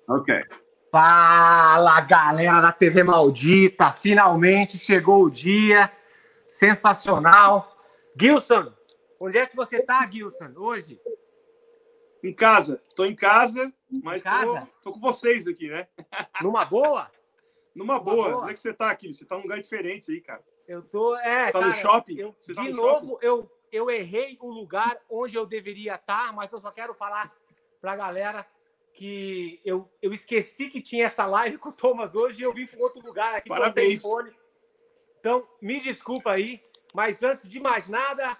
Okay. Fala, galera da TV Maldita! Finalmente chegou o dia. Sensacional. Gilson, onde é que você tá, Gilson, hoje? Em casa. Tô em casa, mas tô com vocês aqui, né? Numa boa? Numa boa. Onde é que você tá aqui? Você tá num lugar diferente aí, cara. Eu tô... Você tá no shopping? De novo, eu errei o lugar onde eu deveria estar, mas eu só quero falar pra galera que eu esqueci que tinha essa live com o Thomas hoje e eu vim para outro lugar aqui. Parabéns. Então, me desculpa aí, mas antes de mais nada,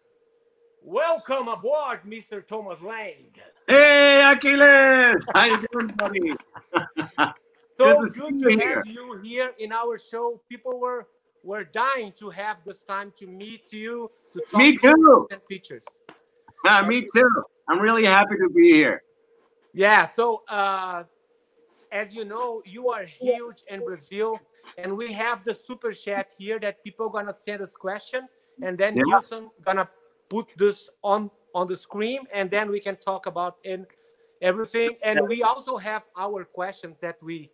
welcome aboard, Mr. Thomas Lang. Hey, Achilles! How you doing, buddy? So good to have you here in our show. People were dying to have this time to meet you, to talk Me too. And pictures. Me too. I'm really happy to be here. Yeah, so as you know, you are huge in Brazil, and we have the super chat here that people are gonna send us question, and then Gilson gonna put this on the screen, and then we can talk about everything. And we also have our questions that we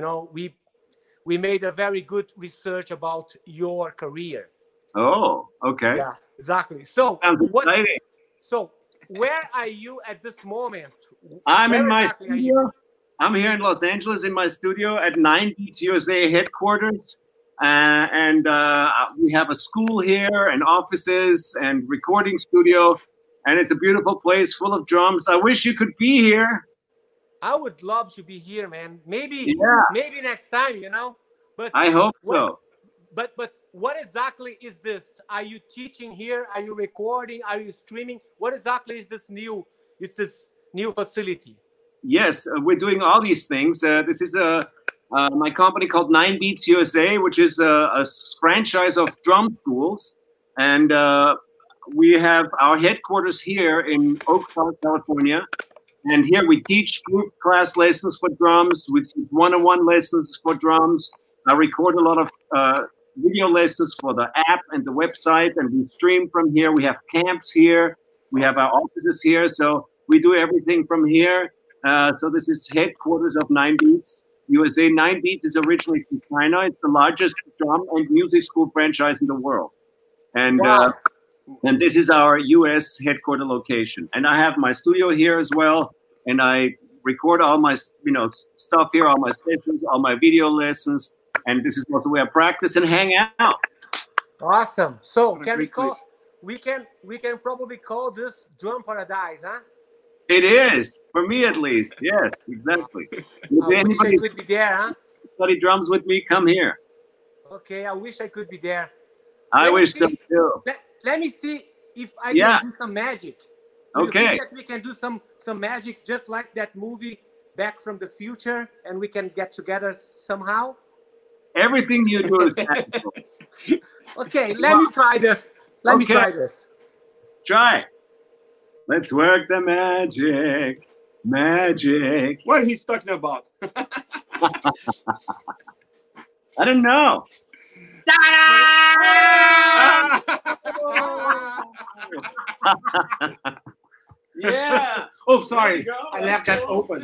made a very good research about your career. Oh, okay. Yeah, exactly. So sounds exciting. So where are you at this moment? I'm in my studio. I'm here in Los Angeles in my studio at 9 Beats USA headquarters. And we have a school here and offices and recording studio. And it's a beautiful place full of drums. I wish you could be here. I would love to be here, man. Maybe next time, But I hope so. But what exactly is this? Are you teaching here? Are you recording? Are you streaming? What exactly is this new facility? Yes, we're doing all these things. This is my company called 9 Beats USA, which is a franchise of drum schools. And we have our headquarters here in Oak Park, California. And here we teach group class lessons for drums. We teach one-on-one lessons for drums. I record a lot of video lessons for the app and the website, and we stream from here. We have camps here. We have our offices here. So we do everything from here. So this is headquarters of 9 Beats USA. 9 Beats is originally from China. It's the largest drum and music school franchise in the world. And and this is our US headquarter location. And I have my studio here as well. And I record all my stuff here, all my sessions, all my video lessons. And this is also where I practice and hang out. Awesome. So can we can probably call this Drum Paradise, huh? It is, for me at least. Yes, exactly. I wish I could be there, huh? Study drums with me, come here. Okay, I wish I could be there. I wish so too. Let me see if I can do some magic. Okay. You think that we can do some magic just like that movie Back from the Future, and we can get together somehow? Everything you do is magical. Okay, let me try this. Let me try this. Try. Let's work the magic. Magic. What he's talking about? I don't know. Yeah. Oh, sorry. I left that open.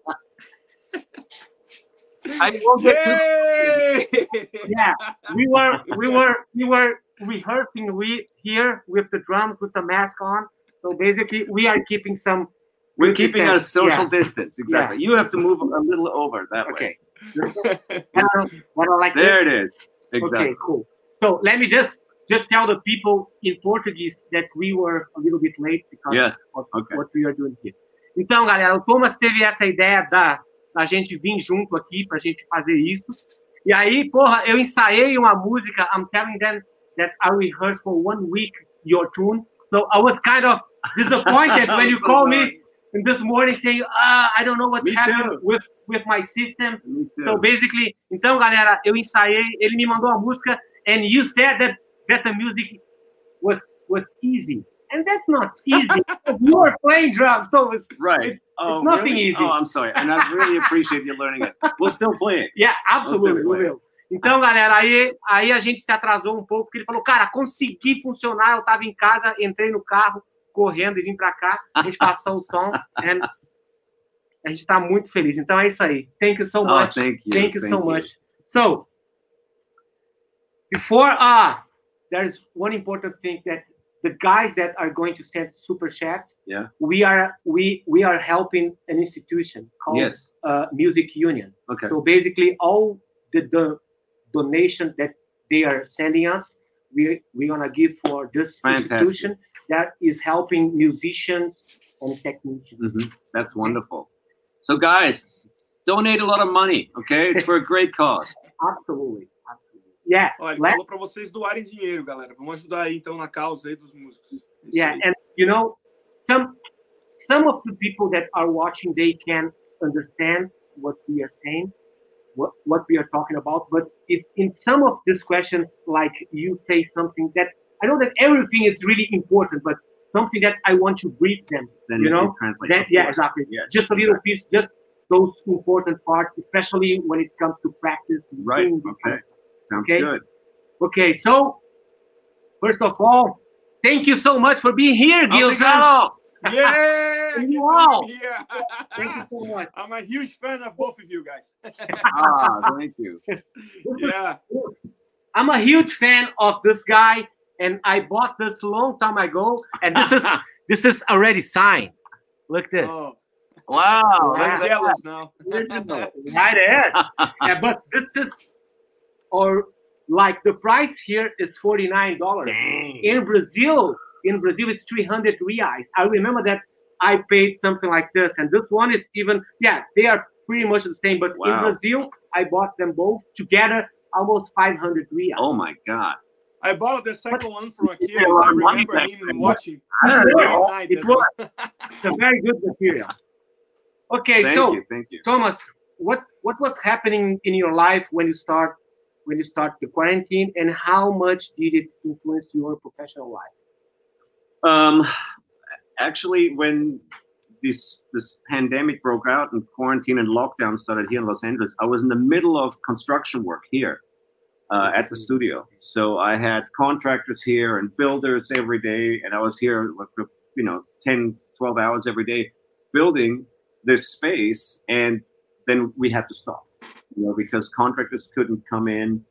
Yeah, we were rehearsing here with the drums with the mask on. So basically, we are keeping some. We're keeping a social distance. Exactly. Yeah. You have to move a little over that way. There it is. Exactly. Okay, cool. So let me just tell the people in Portuguese that we were a little bit late because of what we are doing here. Então, galera, o Thomas teve essa ideia da gente vir junto aqui pra gente fazer isso. E aí, porra, eu ensaiei uma música. I'm telling them that I rehearsed for 1 week your tune. So I was kind of disappointed when you called me this morning saying, I don't know what's happening with my system. So basically, então, galera, eu ensaiei, ele me mandou a música, and you said that the music was easy. And that's not easy. You are playing drums, so it's nothing easy. Oh, I'm sorry. And I really appreciate you learning it. We'll still play it. Yeah, absolutely. We will. Então, galera, aí a gente se atrasou um pouco, porque ele falou, cara, consegui funcionar, eu tava em casa, entrei no carro, correndo e vim pra cá, a gente passou o som, and A gente está muito feliz. Então é isso aí. Thank you so much. Thank you. Thank you so much. So, before there's one important thing that the guys that are going to send super chat. Yeah. We are helping an institution called Music Union. Okay. So basically, all the donation that they are sending us, we're gonna give for this institution that is helping musicians and technicians. Mm-hmm. That's wonderful. So guys, donate a lot of money, okay? It's for a great cause. Absolutely. Yeah. Olha, ele falou para vocês doarem dinheiro, galera. Vamos ajudar aí então na causa aí dos músicos. Yeah, and you know, some of the people that are watching, they can understand what we are saying, what we are talking about. But if in some of this question, like you say something that I know that everything is really important, but something that I want to brief them, then you know, exactly. Yes, just a little piece, just those important parts, especially when it comes to practice. Right. Okay. Sounds good. Okay. So first of all, thank you so much for being here, Gilson. Yeah! Wow! Thank you so much. I'm a huge fan of both of you guys. Thank you. Yeah. I'm a huge fan of this guy, and I bought this a long time ago, and this is already signed. Look at this. Oh. Wow. I'm jealous now. Right, it is. Yeah, but this is, or like the price here is $49. Dang. In Brazil, it's 300 reais. I remember that I paid something like this, and this one is even, they are pretty much the same, but in Brazil, I bought them both together, almost 500 reais. Oh my God. I bought the second one from a kid. I remember him watching. It was a very good material. Okay, thank you. Thomas, what was happening in your life when you start the quarantine, and how much did it influence your professional life? Actually, when this pandemic broke out and quarantine and lockdown started here in Los Angeles, I was in the middle of construction work here at the studio. So I had contractors here and builders every day, and I was here for 10, 12 hours every day building this space, and then we had to stop, because contractors couldn't come in.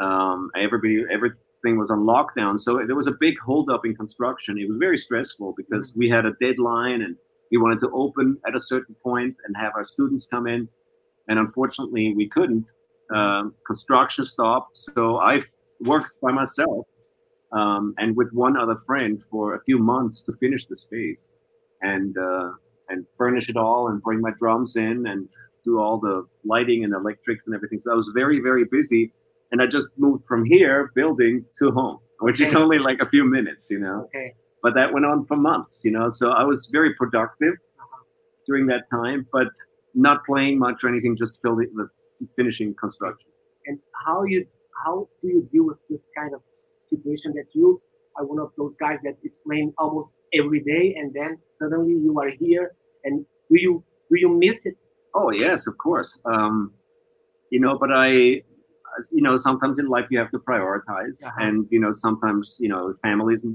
Everything was on lockdown, so there was a big holdup in construction. It was very stressful because we had a deadline and we wanted to open at a certain point and have our students come in, and unfortunately we couldn't. Construction stopped, so I worked by myself and with one other friend for a few months to finish the space and furnish it all and bring my drums in and do all the lighting and electrics and everything. So I was very, very busy. And I just moved from here, building, to home, which is only like a few minutes, Okay. But that went on for months, So I was very productive during that time, but not playing much or anything, just finishing construction. And how do you deal with this kind of situation that you are one of those guys that is playing almost every day, and then suddenly you are here, and do you miss it? Oh yes, of course. But sometimes in life you have to prioritize, and sometimes family is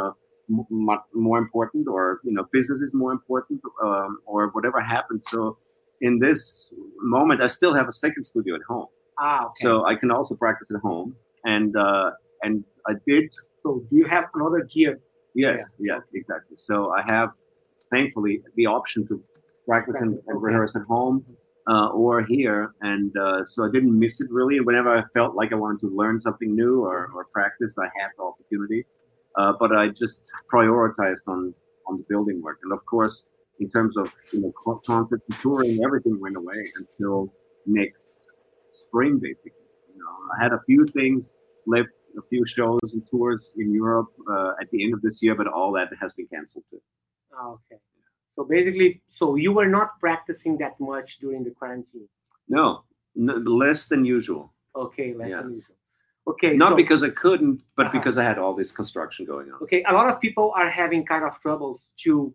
more important, or business is more important, or whatever happens. So in this moment, I still have a second studio at home. Okay. So I can also practice at home, and I did. So do you have another gear? Yes, yeah, exactly. So I have, thankfully, the option to practice and rehearse at home. Or here, and so I didn't miss it really. And whenever I felt like I wanted to learn something new or practice, I had the opportunity. But I just prioritized on the building work. And of course, in terms of concerts and touring, everything went away until next spring, basically. I had a few things left, a few shows and tours in Europe at the end of this year, but all that has been canceled too. Okay. So basically, you were not practicing that much during the quarantine? No, less than usual. Okay, less than usual. Okay. Not because I couldn't, but because I had all this construction going on. Okay, a lot of people are having kind of troubles to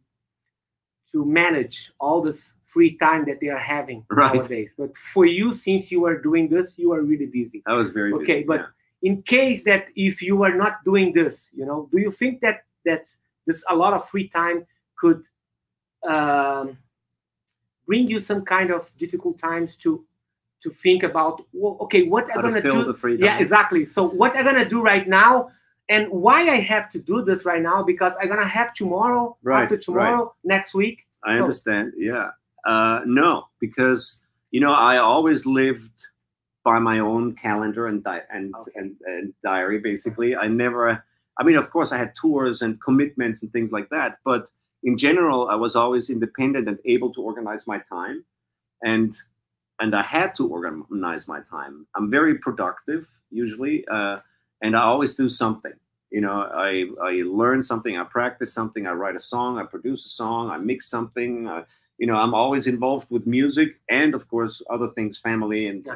manage all this free time that they are having nowadays. But for you, since you are doing this, you are really busy. I was very busy. Okay, but in case that if you are not doing this, do you think that this a lot of free time could bring you some kind of difficult times to think about, well, okay, what I'm gonna do? Yeah, exactly. So what I'm gonna do right now, and why I have to do this right now, because I'm gonna have tomorrow, after tomorrow, next week. I understand. Yeah. No, because I always lived by my own calendar and diary. Basically, I never. I mean, of course, I had tours and commitments and things like that, but in general, I was always independent and able to organize my time, and I had to organize my time. I'm very productive usually, and I always do something. I learn something, I practice something, I write a song, I produce a song, I mix something. I'm always involved with music and, of course, other things, family, and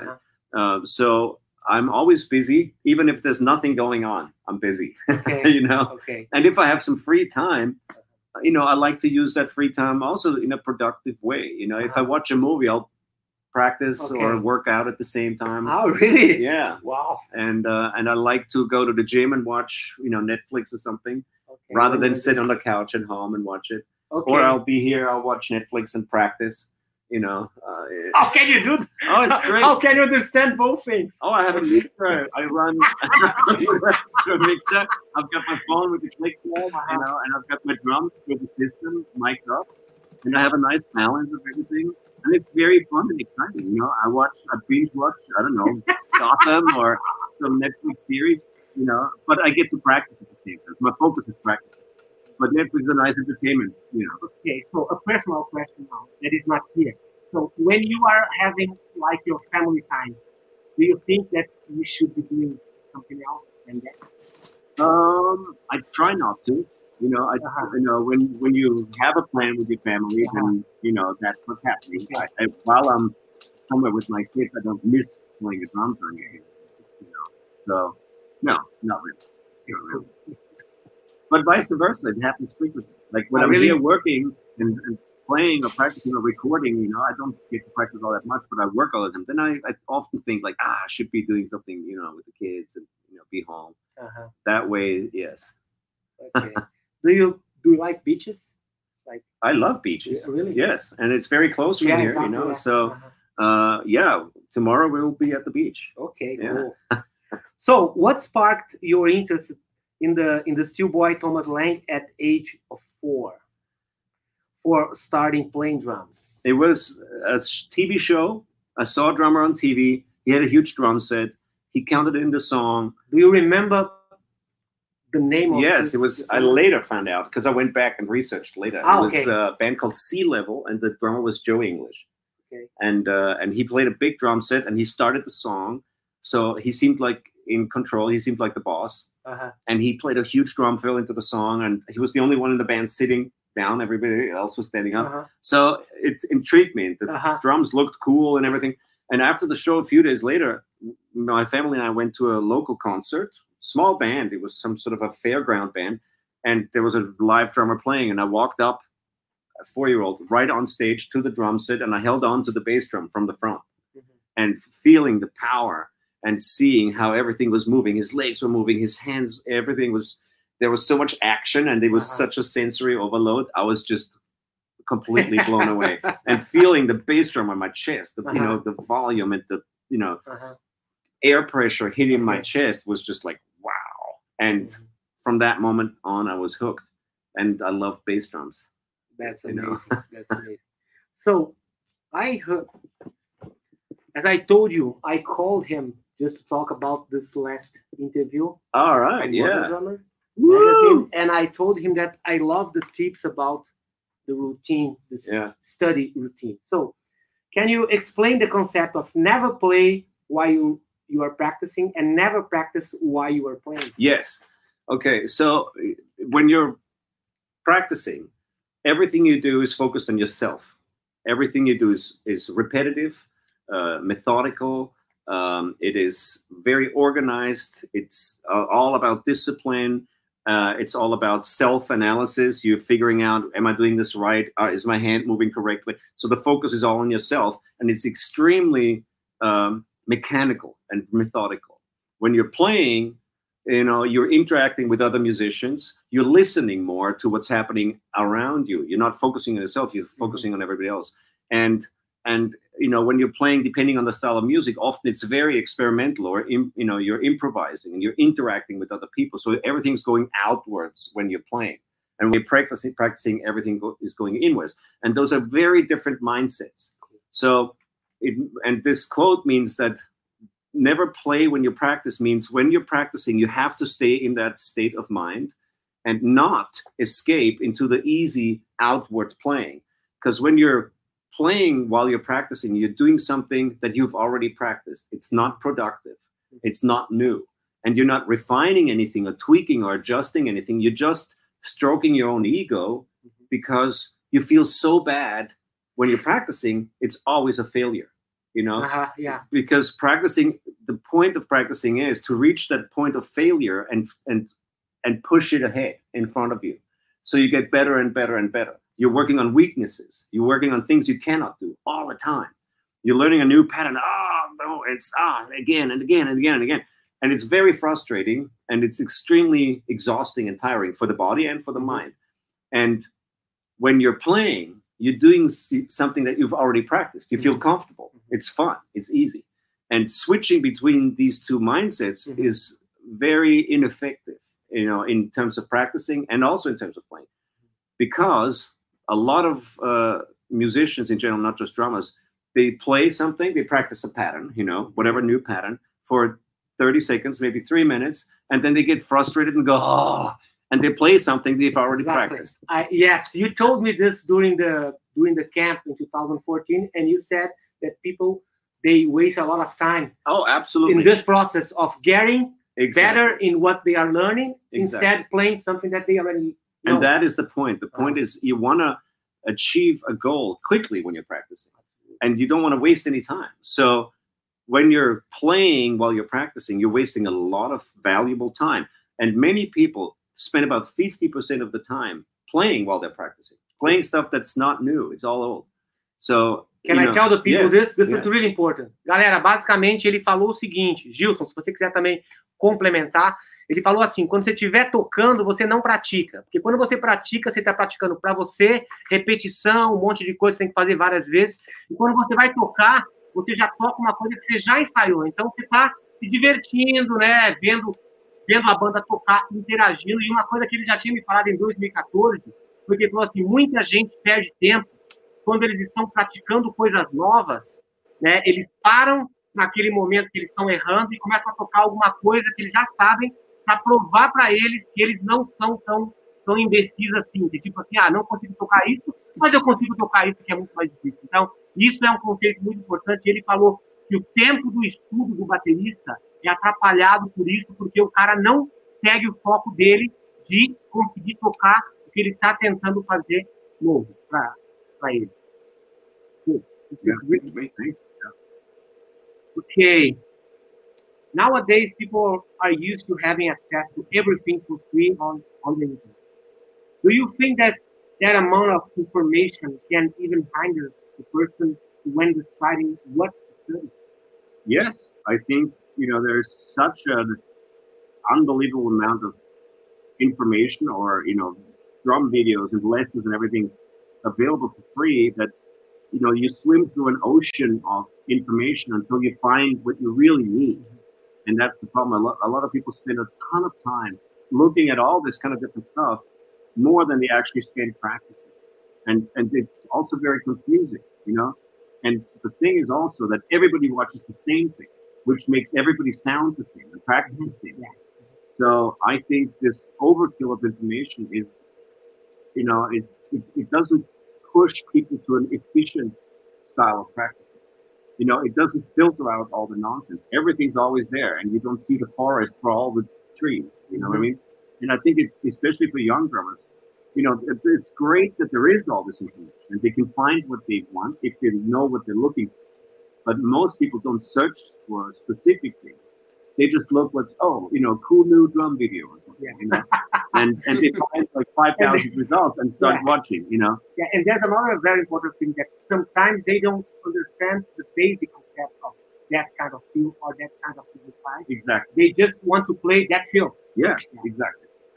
so I'm always busy, even if there's nothing going on. I'm busy. Okay. Okay. And if I have some free time, I like to use that free time also in a productive way. If I watch a movie, I'll practice or work out at the same time. Oh, really? Yeah. Wow. And I like to go to the gym and watch, Netflix or something, rather than sit on the couch at home and watch it. Okay. Or I'll be here, I'll watch Netflix and practice. How can you do that? Oh, it's great. How can you understand both things? Oh, I have a mixer. I run a mixer. I've got my phone with the click wall, and I've got my drums with the system mic'd up, and I have a nice balance of everything, and it's very fun and exciting. I binge watch, I don't know, Gotham or some Netflix series, but I get to practice at the same time. My focus is practice. But Netflix is a nice entertainment, Okay, so a personal question now that is not here. So when you are having like your family time, do you think that you should be doing something else than that? I try not to. When you have a plan with your family, then that's what's happening. While I'm somewhere with my kids, I don't miss playing the drums or anything. So no, not really. Not really. But vice versa, it happens frequently. Like when I'm here working and playing or practicing or recording, I don't get to practice all that much, but I work all the time. Then I often think like, I should be doing something, with the kids and be home. That way, yes. Okay. Do you like beaches? Like I love beaches. Yeah, really? Yes, and it's very close from here, exactly, So, tomorrow we'll be at the beach. Okay, cool. So, what sparked your interest in the schoolboy Thomas Lang at age of 4 for starting playing drums? It was a TV show. I saw a drummer on TV. He had a huge drum set. He counted in the song. Do you remember the name of Yes, it was. I later found out because I went back and researched later. It was a band called Sea Level, and the drummer was Joe English. Okay. And he played a big drum set, and he started the song. So he seemed like in control. He seemed like the boss. And he played a huge drum fill into the song, and he was the only one in the band sitting down. Everybody else was standing up. So it intrigued me. The drums looked cool and everything. And after the show, a few days later, my family and I went to a local concert. Small band. It was some sort of a fairground band, and there was a live drummer playing. And I walked up, a 4-year-old, right on stage to the drum set, and I held on to the bass drum from the front, and feeling the power and seeing how everything was moving. His legs were moving, his hands, everything was. There was so much action, and it was such a sensory overload. I was just completely blown away, and feeling the bass drum on my chest, the the volume and the air pressure hitting my chest was just like wow. And from that moment on, I was hooked, and I love bass drums. That's amazing. That's amazing. So I heard, as I told you, I called him just to talk about this last interview. All right, yeah. Drummer magazine, and I told him that I love the tips about the routine, the study routine. So can you explain the concept of never play while you are practicing and never practice while you are playing? Yes. Okay. So when you're practicing, everything you do is focused on yourself. Everything you do is repetitive, methodical. It is very organized. It's all about discipline. It's all about self-analysis. You're figuring out, am I doing this right? Is my hand moving correctly? So the focus is all on yourself, and it's extremely mechanical and methodical. When you're playing, you're interacting with other musicians. You're listening more to what's happening around you. You're not focusing on yourself. You're focusing on everybody else. And you know, when you're playing, depending on the style of music, often it's very experimental, or you know, you're improvising and you're interacting with other people, so everything's going outwards when you're playing. And when you're practicing, everything is going inwards, and those are very different mindsets. So and this quote means that never play when you practice means when you're practicing, you have to stay in that state of mind and not escape into the easy outward playing. Because when you're playing while you're practicing, you're doing something that you've already practiced. It's not productive. It's not new. And you're not refining anything or tweaking or adjusting anything. You're just stroking your own ego because you feel so bad when you're practicing. It's always a failure, you know? Yeah. Because practicing, the point of practicing is to reach that point of failure and push it ahead in front of you. So you get better and better and better. You're working on weaknesses. You're working on things you cannot do all the time. You're learning a new pattern. Oh, no, it's again and again and again and again. And it's very frustrating, and it's extremely exhausting and tiring for the body and for the mind. And when you're playing, you're doing something that you've already practiced. You feel comfortable. It's fun. It's easy. And switching between these two mindsets is very ineffective, you know, in terms of practicing and also in terms of playing. Because a lot of musicians in general, not just drummers, they play something, they practice a pattern, you know, whatever new pattern for 30 seconds, maybe 3 minutes, and then they get frustrated and go, oh, and they play something they've already practiced. Yes, you told me this during the camp in 2014, and you said that people, they waste a lot of time. Oh, absolutely. In this process of getting better in what they are learning, instead playing something that they already know. And that is the point. The point is you want to achieve a goal quickly when you're practicing, and you don't want to waste any time. So when you're playing while you're practicing, you're wasting a lot of valuable time. And many people spend about 50% of the time playing while they're practicing, playing stuff that's not new. It's all old. So, can I tell the people this? This is really important. Galera, basicamente ele falou o seguinte, Gilson, se você quiser também complementar, ele falou assim, quando você estiver tocando, você não pratica. Porque quando você pratica, você está praticando para você, repetição, um monte de coisa que você tem que fazer várias vezes. E quando você vai tocar, você já toca uma coisa que você já ensaiou. Então, você está se divertindo, né? Vendo a banda tocar, interagindo. E uma coisa que ele já tinha me falado em 2014, porque ele falou assim, muita gente perde tempo quando eles estão praticando coisas novas, né? Eles param naquele momento que eles estão errando e começam a tocar alguma coisa que eles já sabem para provar para eles que eles não são tão imbecis assim. Que, tipo assim, não consigo tocar isso, mas eu consigo tocar isso, que é muito mais difícil. Então, isso é um conceito muito importante. Ele falou que o tempo do estudo do baterista é atrapalhado por isso, porque o cara não segue o foco dele de conseguir tocar o que ele está tentando fazer novo para ele. Okay. Nowadays, people are used to having access to everything for free on the internet. Do you think that amount of information can even hinder the person when deciding what to study? Yes, I think, you know, there's such an unbelievable amount of information, or, you know, drum videos and lessons and everything available for free that, you know, you swim through an ocean of information until you find what you really need. And that's the problem. A lot of people spend a ton of time looking at all this kind of different stuff more than they actually spend practicing. And it's also very confusing, you know? And the thing is also that everybody watches the same thing, which makes everybody sound the same and practice the same. Yeah. So I think this overkill of information is, you know, it doesn't push people to an efficient style of practicing. You know, it doesn't filter out all the nonsense. Everything's always there, and you don't see the forest for all the trees. You know what I mean? And I think it's, especially for young drummers, you know, it's great that there is all this information, and they can find what they want if they know what they're looking for. But most people don't search for specific things. They just look what's, you know, cool new drum video or something, you know? and they find like 5,000 results and start watching, you know? Yeah, and there's another very important thing that sometimes they don't understand the basic concept of that kind of feel or that kind of exercise. Exactly. They just want to play that feel. Yes, exactly.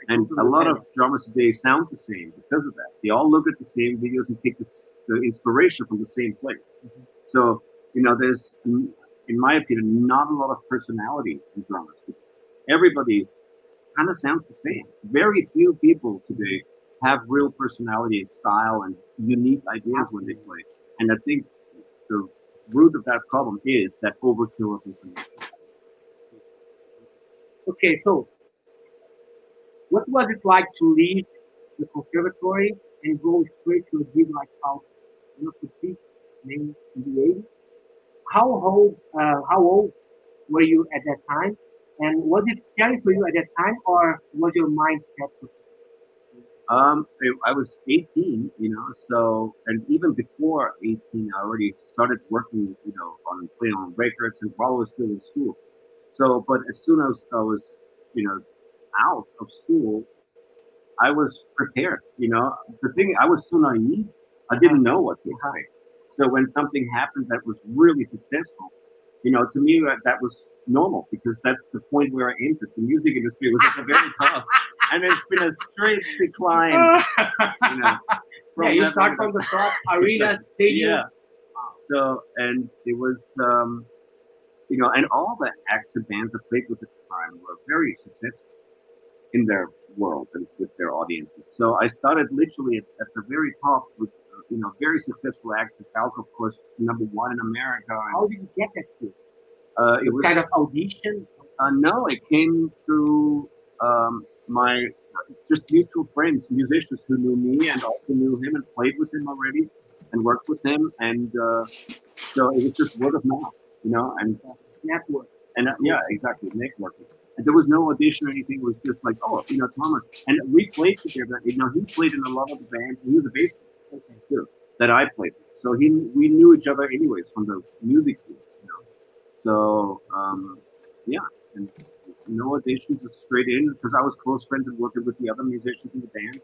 And a lot of drummers today sound the same because of that. They all look at the same videos and take the inspiration from the same place. So, there's, in my opinion, not a lot of personality in drummers. Everybody kind of sounds the same. Very few people today have real personality and style and unique ideas when they play. And I think the root of that problem is that overkill of information. Okay, so what was it like to leave the conservatory and go straight to a gig like Falco? Maybe in the 80s? How old were you at that time? And was it scary for you at that time, or was your mind set? I was 18, so, and even before 18, I already started working, on playing on records and while I was still in school. So, but as soon as I was, out of school, I was prepared, The thing, I was so naive, I didn't know what to expect. So when something happened that was really successful, to me, that was normal, because that's the point where I entered. The music industry was at the very top, and it's been a straight decline. You start from the top, arena, stadium. Yeah. So, and it was, and all the acts and bands I played with at the time were very successful in their world and with their audiences. So I started literally at the very top with, very successful acts. Falco, of course, #1 in America. How did you get that to? It was kind of audition? No, it came through my just mutual friends, musicians who knew me and also knew him and played with him already and worked with him. And so it was just word of mouth, and network. And yeah, exactly, networking. And there was no audition or anything. It was just like, Thomas. And we played together. He played in a lot of the bands. He was a bass player too, that I played with. So we knew each other anyways from the music scene. So, and no auditions, just straight in, because I was close friends and working with the other musicians in the band.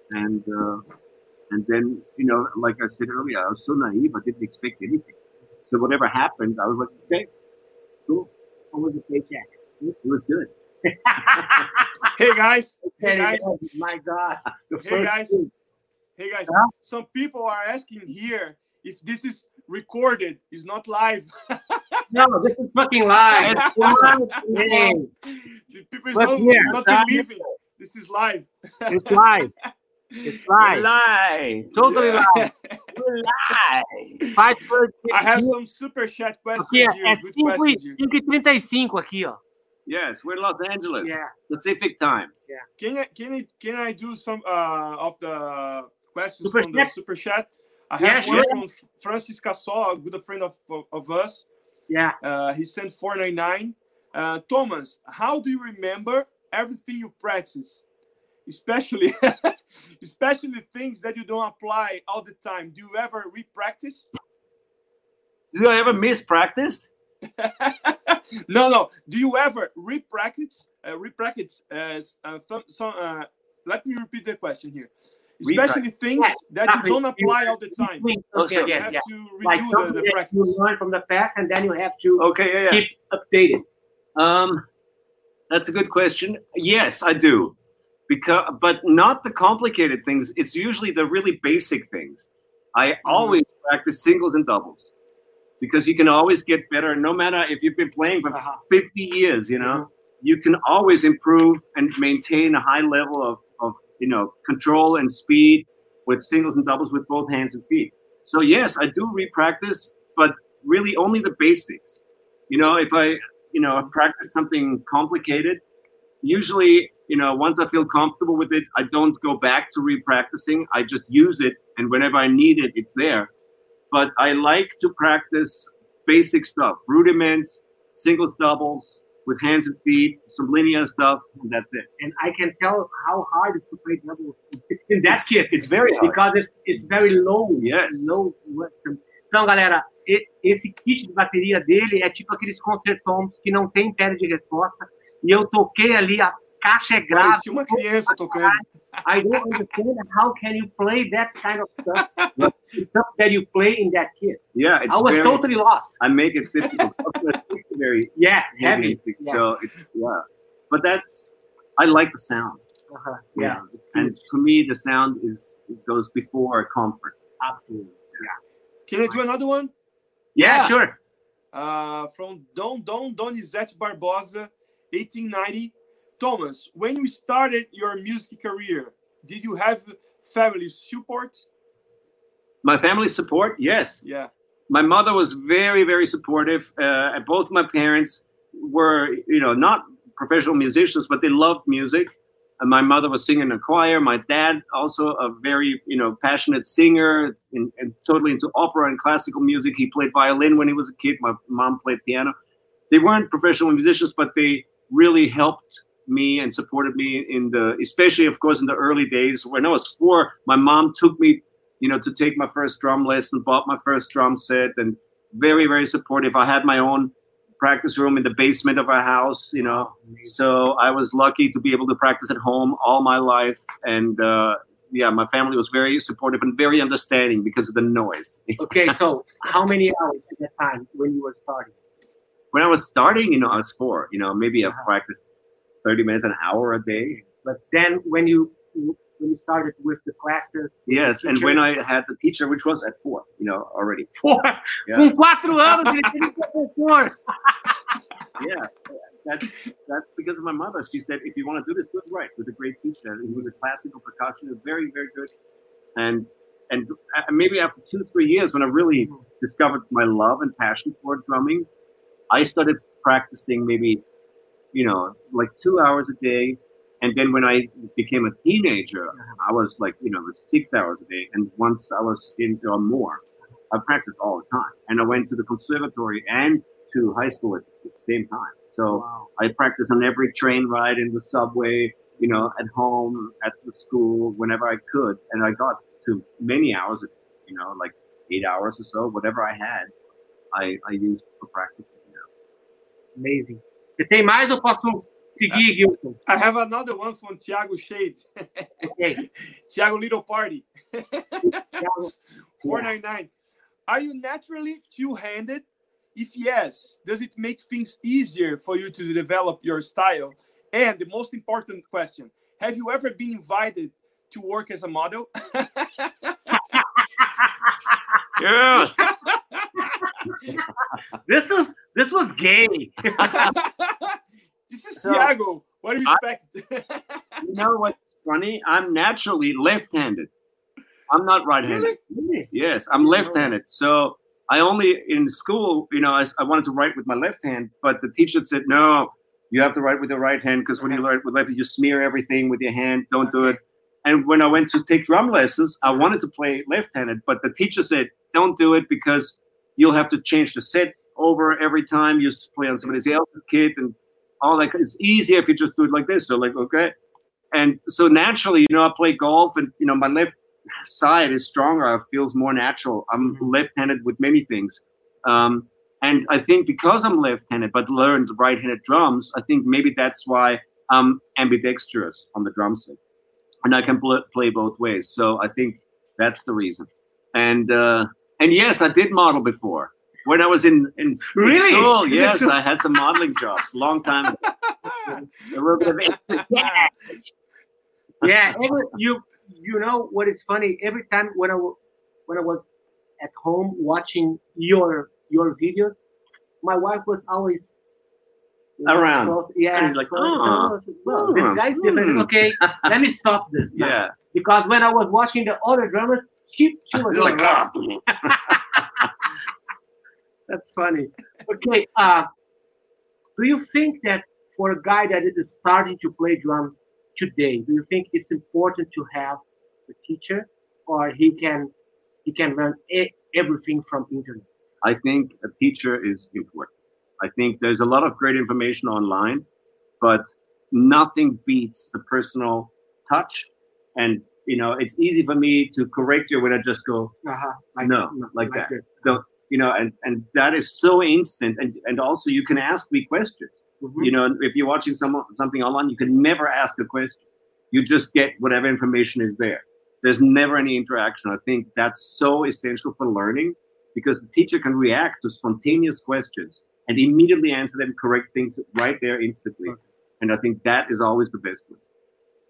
And then, like I said earlier, I was so naive, I didn't expect anything. So whatever happened, I was like, okay, cool. How was the paycheck? It was good. Hey guys. My God. Hey guys. Huh? Some people are asking here if this is recorded, it's not live. No, this is fucking live. It's live. The people not believing. This is live. It's live. It's live. We're live. Totally live. We're live. I have some super chat questions here. É 5:35 aqui, ó. Yes, we're in Los Angeles. Yeah. Pacific time. Yeah. Can I do some of the questions from the super chat? I have one from Francis Cassol, a good friend of us. Yeah. He sent $4.99. Thomas, how do you remember everything you practice? Especially things that you don't apply all the time. Do you ever re-practice? Do I ever miss practice? No. Do you ever re-practice? Let me repeat the question here. Especially things that you don't apply all the time. Okay, you have to redo like the practice. You learn from the past, and then you have to keep updated. That's a good question. Yes, I do. But not the complicated things. It's usually the really basic things. I always practice singles and doubles, because you can always get better. No matter if you've been playing for 50 years, you can always improve and maintain a high level of control and speed with singles and doubles with both hands and feet. So yes, I do re-practice, but really only the basics. If I practice something complicated, usually, once I feel comfortable with it, I don't go back to re-practicing. I just use it, and whenever I need it, it's there. But I like to practice basic stuff, rudiments, singles, doubles, with hands and feet, some linear stuff, and that's it. And I can tell how hard it is to play doubles in that kit. It's very hard. Because it's very low. Yes. Low. Então, galera, esse kit de bateria dele é tipo aqueles concertons que não tem pedra de resposta. E eu toquei ali, a caixa é grave. Parecia uma criança tocando. I don't understand how can you play that kind of stuff. The stuff that you play in that kit. Yeah, I was totally lost. I make it difficult. Very heavy. So it's but I like the sound. Yeah. And to me, the sound goes before comfort. Absolutely. Yeah. Can I do another one? Yeah, sure. From Donizete Barbosa, 1890. Thomas, when you started your music career, did you have family support? My family support, yes. Yeah. My mother was very, very supportive. Both my parents were, not professional musicians, but they loved music. And my mother was singing in a choir. My dad also a very, passionate singer and totally into opera and classical music. He played violin when he was a kid. My mom played piano. They weren't professional musicians, but they really helped me and supported me especially, of course, in the early days. When I was 4, my mom took me, to take my first drum lesson, bought my first drum set, and very, very supportive. I had my own practice room in the basement of our house, so I was lucky to be able to practice at home all my life. And my family was very supportive and very understanding because of the noise. Okay, so how many hours at that time when you were starting? When I was starting, I was 4. Maybe I practiced 30 minutes, an hour a day. But then when you started with the classes, yes, and when I had the teacher, which was at 4, already. 4? Yeah. Com 4 anos, ele teve professor. Yeah, that's because of my mother. She said, if you want to do this, do it right with a great teacher. He was a classical percussionist, very, very good. And maybe after 2-3 years, when I really discovered my love and passion for drumming, I started practicing maybe, like 2 hours a day. And then when I became a teenager, I was like, 6 hours a day. And once I was into more, I practiced all the time. And I went to the conservatory and to high school at the same time. So I practiced on every train ride, in the subway, at home, at the school, whenever I could. And I got to many hours, like 8 hours or so, whatever I had, I used for practicing. Amazing. Você tem mais ou posso seguir, Gilson? I have another one from Thiago Shade. Okay. Thiago Little Party. 499. Are you naturally two-handed? If yes, does it make things easier for you to develop your style? And the most important question, have you ever been invited to work as a model? Yeah. This was gay. This is Thiago. What do you expect? You know what's funny? I'm naturally left-handed. I'm not right-handed. Really? Yes, I'm left-handed. So I only, in school, I wanted to write with my left hand, but the teacher said, no, you have to write with your right hand, because when you write with left, you smear everything with your hand. Don't do it. And when I went to take drum lessons, I wanted to play left-handed, but the teacher said, don't do it, because you'll have to change the set over every time you play on somebody else's kit and all that. It's easier if you just do it like this. So like, okay. And so naturally, I play golf, and, my left side is stronger. It feels more natural. I'm left-handed with many things. And I think because I'm left-handed but learned right-handed drums, I think maybe that's why I'm ambidextrous on the drum set. And I can play both ways. So I think that's the reason. And yes, I did model before. When I was in really? School, yes, I had some modeling jobs, long time ago. A little bit of yeah, you know what is funny? Every time when I was at home watching your videos, my wife was always around. Close. Yeah, and he's like, well, this guy's different. Okay, let me stop this now. Yeah. Because when I was watching the other drummers, she was like, that's funny. Okay, do you think that for a guy that is starting to play drums today, do you think it's important to have a teacher, or he can learn everything from internet? I think a teacher is important. I think there's a lot of great information online, but nothing beats the personal touch. And it's easy for me to correct you when I just go, like that. So, and that is so instant. And also you can ask me questions. Mm-hmm. If you're watching something online, you can never ask a question. You just get whatever information is there. There's never any interaction. I think that's so essential for learning, because the teacher can react to spontaneous questions and immediately answer them, correct things right there instantly. And I think that is always the best way.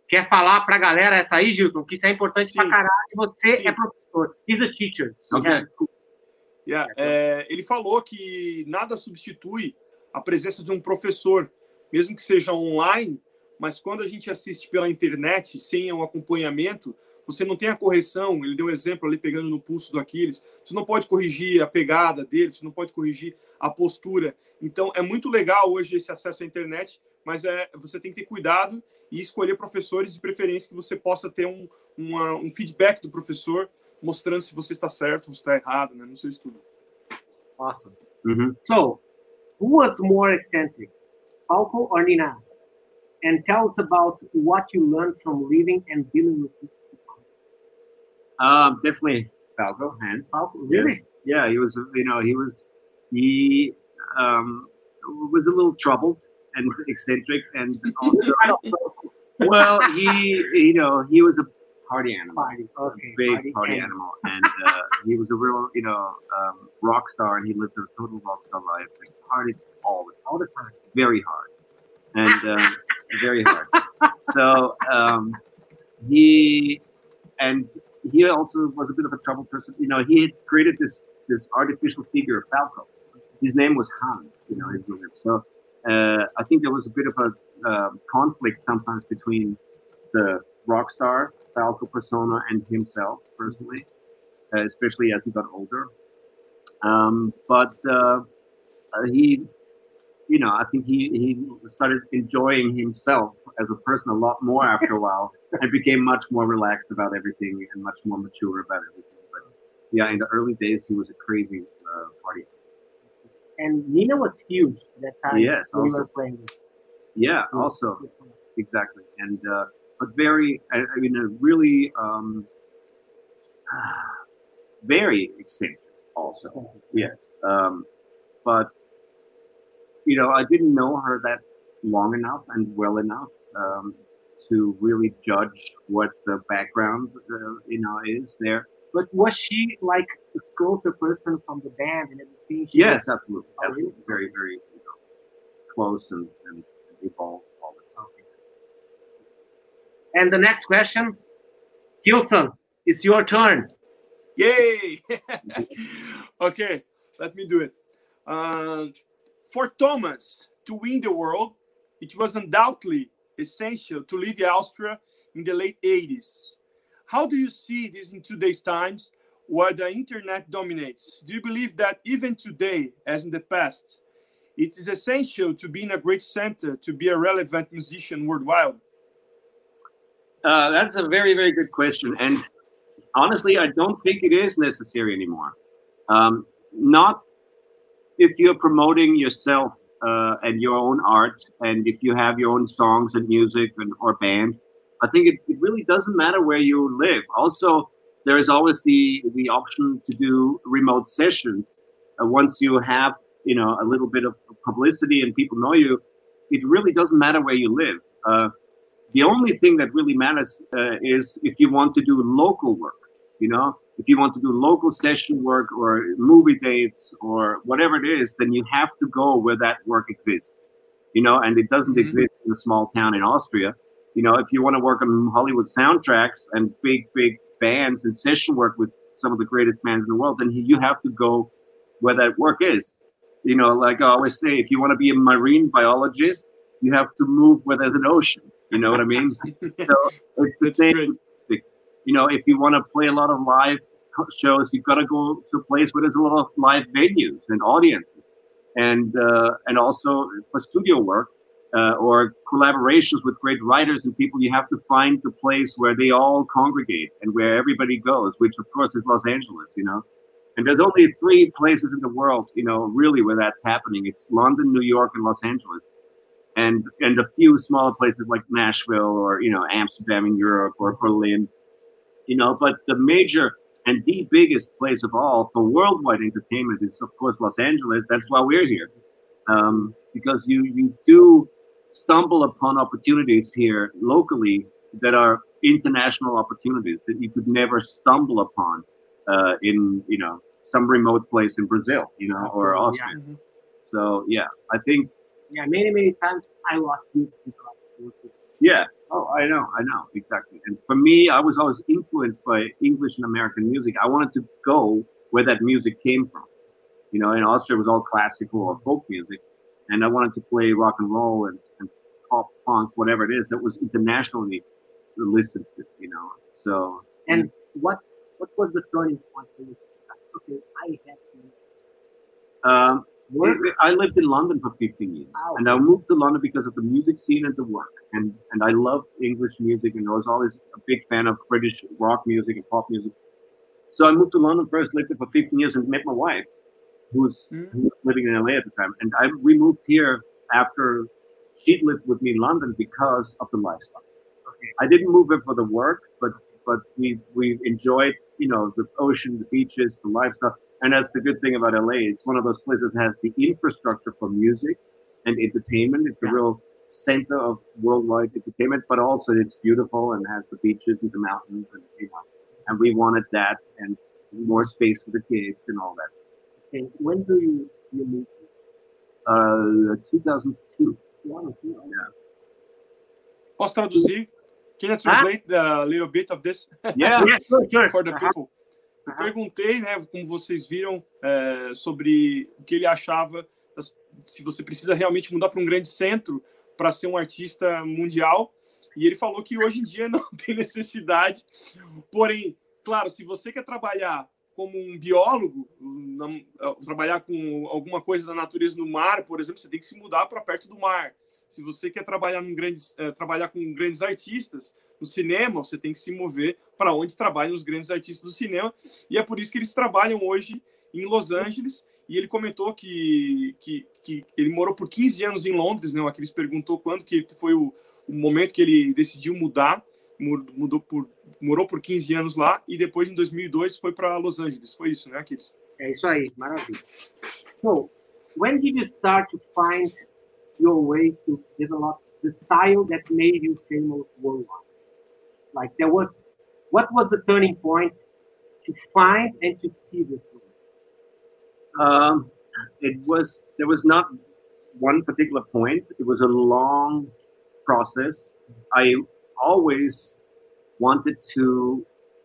Quer falar para a galera essa aí, Gilson? Que isso é importante para caralho. Você é professor. He's a teacher. Okay. Ele falou que nada substitui a presença de um professor, mesmo que seja online, mas quando a gente assiste pela internet, sem um acompanhamento, você não tem a correção. Ele deu um exemplo ali, pegando no pulso do Aquiles. Você não pode corrigir a pegada dele, você não pode corrigir a postura. Então, é muito legal hoje esse acesso à internet, mas você tem que ter cuidado e escolher professores de preferência que você possa ter um feedback do professor mostrando se você está certo ou se está errado, né, no seu estudo. Awesome. So, who was more eccentric, Falco or Nina? And tell us about what you learned from living and dealing with people. Definitely Falco. Hans. Falco, really? Yes. Yeah, he was. He was a little troubled and eccentric, and also, well, he was a party animal, big party animal, and he was a real, rock star, and he lived a total rock star life. Like, partied all the time, very hard, and very hard. So he also was a bit of a troubled person. He had created this artificial figure of Falco. His name was Hans. So I think there was a bit of a conflict sometimes between the rock star Falco persona and himself personally, especially as he got older. But he, I think he started enjoying himself as a person a lot more after a while, and became much more relaxed about everything and much more mature about everything. But yeah, in the early days, he was a crazy party. And Nina was huge that time. Yes, when we were playing. Yeah, also, exactly. And but very, really, very eccentric. Also, yes. But I didn't know her that long enough and well enough to really judge what the background, is there. But was she like a closer person from the band and everything? Yes, absolutely. Absolutely. Very, very close and involved all the time. And the next question, Gilson, it's your turn. Yay! Okay, let me do it. For Thomas to win the world, it was undoubtedly essential to leave Austria in the late 80s. How do you see this in today's times, where the internet dominates? Do you believe that even today, as in the past, it is essential to be in a great center to be a relevant musician worldwide? That's a very, very good question. And honestly, I don't think it is necessary anymore. Not if you're promoting yourself and your own art, and if you have your own songs and music or band. I think it really doesn't matter where you live. Also, there is always the option to do remote sessions. Once you have, a little bit of publicity and people know you, it really doesn't matter where you live. The only thing that really matters is if you want to do local work, if you want to do local session work or movie dates or whatever it is, then you have to go where that work exists, and it doesn't exist in a small town in Austria. If you want to work on Hollywood soundtracks and big bands and session work with some of the greatest bands in the world, then you have to go where that work is. Like I always say, if you want to be a marine biologist, you have to move where there's an ocean. You know what I mean? So it's the same. If you want to play a lot of live shows, you've got to go to a place where there's a lot of live venues and audiences, and also for studio work. Or collaborations with great writers and people, you have to find the place where they all congregate and where everybody goes, which of course is Los Angeles, And there's only 3 places in the world, really where that's happening. It's London, New York, and Los Angeles. And a few smaller places like Nashville or, Amsterdam in Europe or Berlin, but the major and the biggest place of all for worldwide entertainment is, of course, Los Angeles. That's why we're here. Because you do stumble upon opportunities here locally that are international opportunities that you could never stumble upon in some remote place in Brazil, or Austria. Yeah. So yeah, I think many times I lost you. Yeah, Oh, I know, exactly. And for me, I was always influenced by English and American music. I wanted to go where that music came from. You know, in Austria, it was all classical or folk music, and I wanted to play rock and roll and pop, punk, whatever it is that was internationally listened to. You know, so. And what was the turning point for you? Okay, I have to. I lived in London for 15 years, and I moved to London because of the music scene and the work. And I loved English music, and I was always a big fan of British rock music and pop music. So I moved to London first, lived there for 15 years, and met my wife, who was living in LA at the time. And we moved here after she'd lived with me in London because of the lifestyle. Okay. I didn't move here for the work, but we enjoyed, you know, the ocean, the beaches, the lifestyle. And that's the good thing about LA. It's one of those places that has the infrastructure for music and entertainment. It's a real center of worldwide entertainment, but also it's beautiful and has the beaches and the mountains, and you know, and we wanted that and more space for the kids and all that. Okay. When do you move? 2002. Yeah. Posso traduzir? Can you translate a little bit of this? Yeah, sure. For the people. Eu perguntei, né, como vocês viram, sobre o que ele achava, se você precisa realmente mudar para um grande centro para ser um artista mundial. E ele falou que hoje em dia não tem necessidade. Porém, claro, se você quer trabalhar como um biólogo, trabalhar com alguma coisa da natureza no mar, por exemplo, você tem que se mudar para perto do mar. Se você quer trabalhar trabalhar com grandes artistas no cinema, você tem que se mover para onde trabalham os grandes artistas do cinema. E é por isso que eles trabalham hoje em Los Angeles. E ele comentou que ele morou por 15 anos em Londres, né? Aqui eles perguntou quando que foi o momento que ele decidiu mudar. Morou por 15 anos lá e depois, em 2002, foi para Los Angeles. Foi isso, né, Aquiles? É isso aí, maravilha. So, when did you start to find your way to develop the style that made you famous worldwide? Like, what was the turning point to find and to see this? There was not one particular point. It was a long process. I always wanted to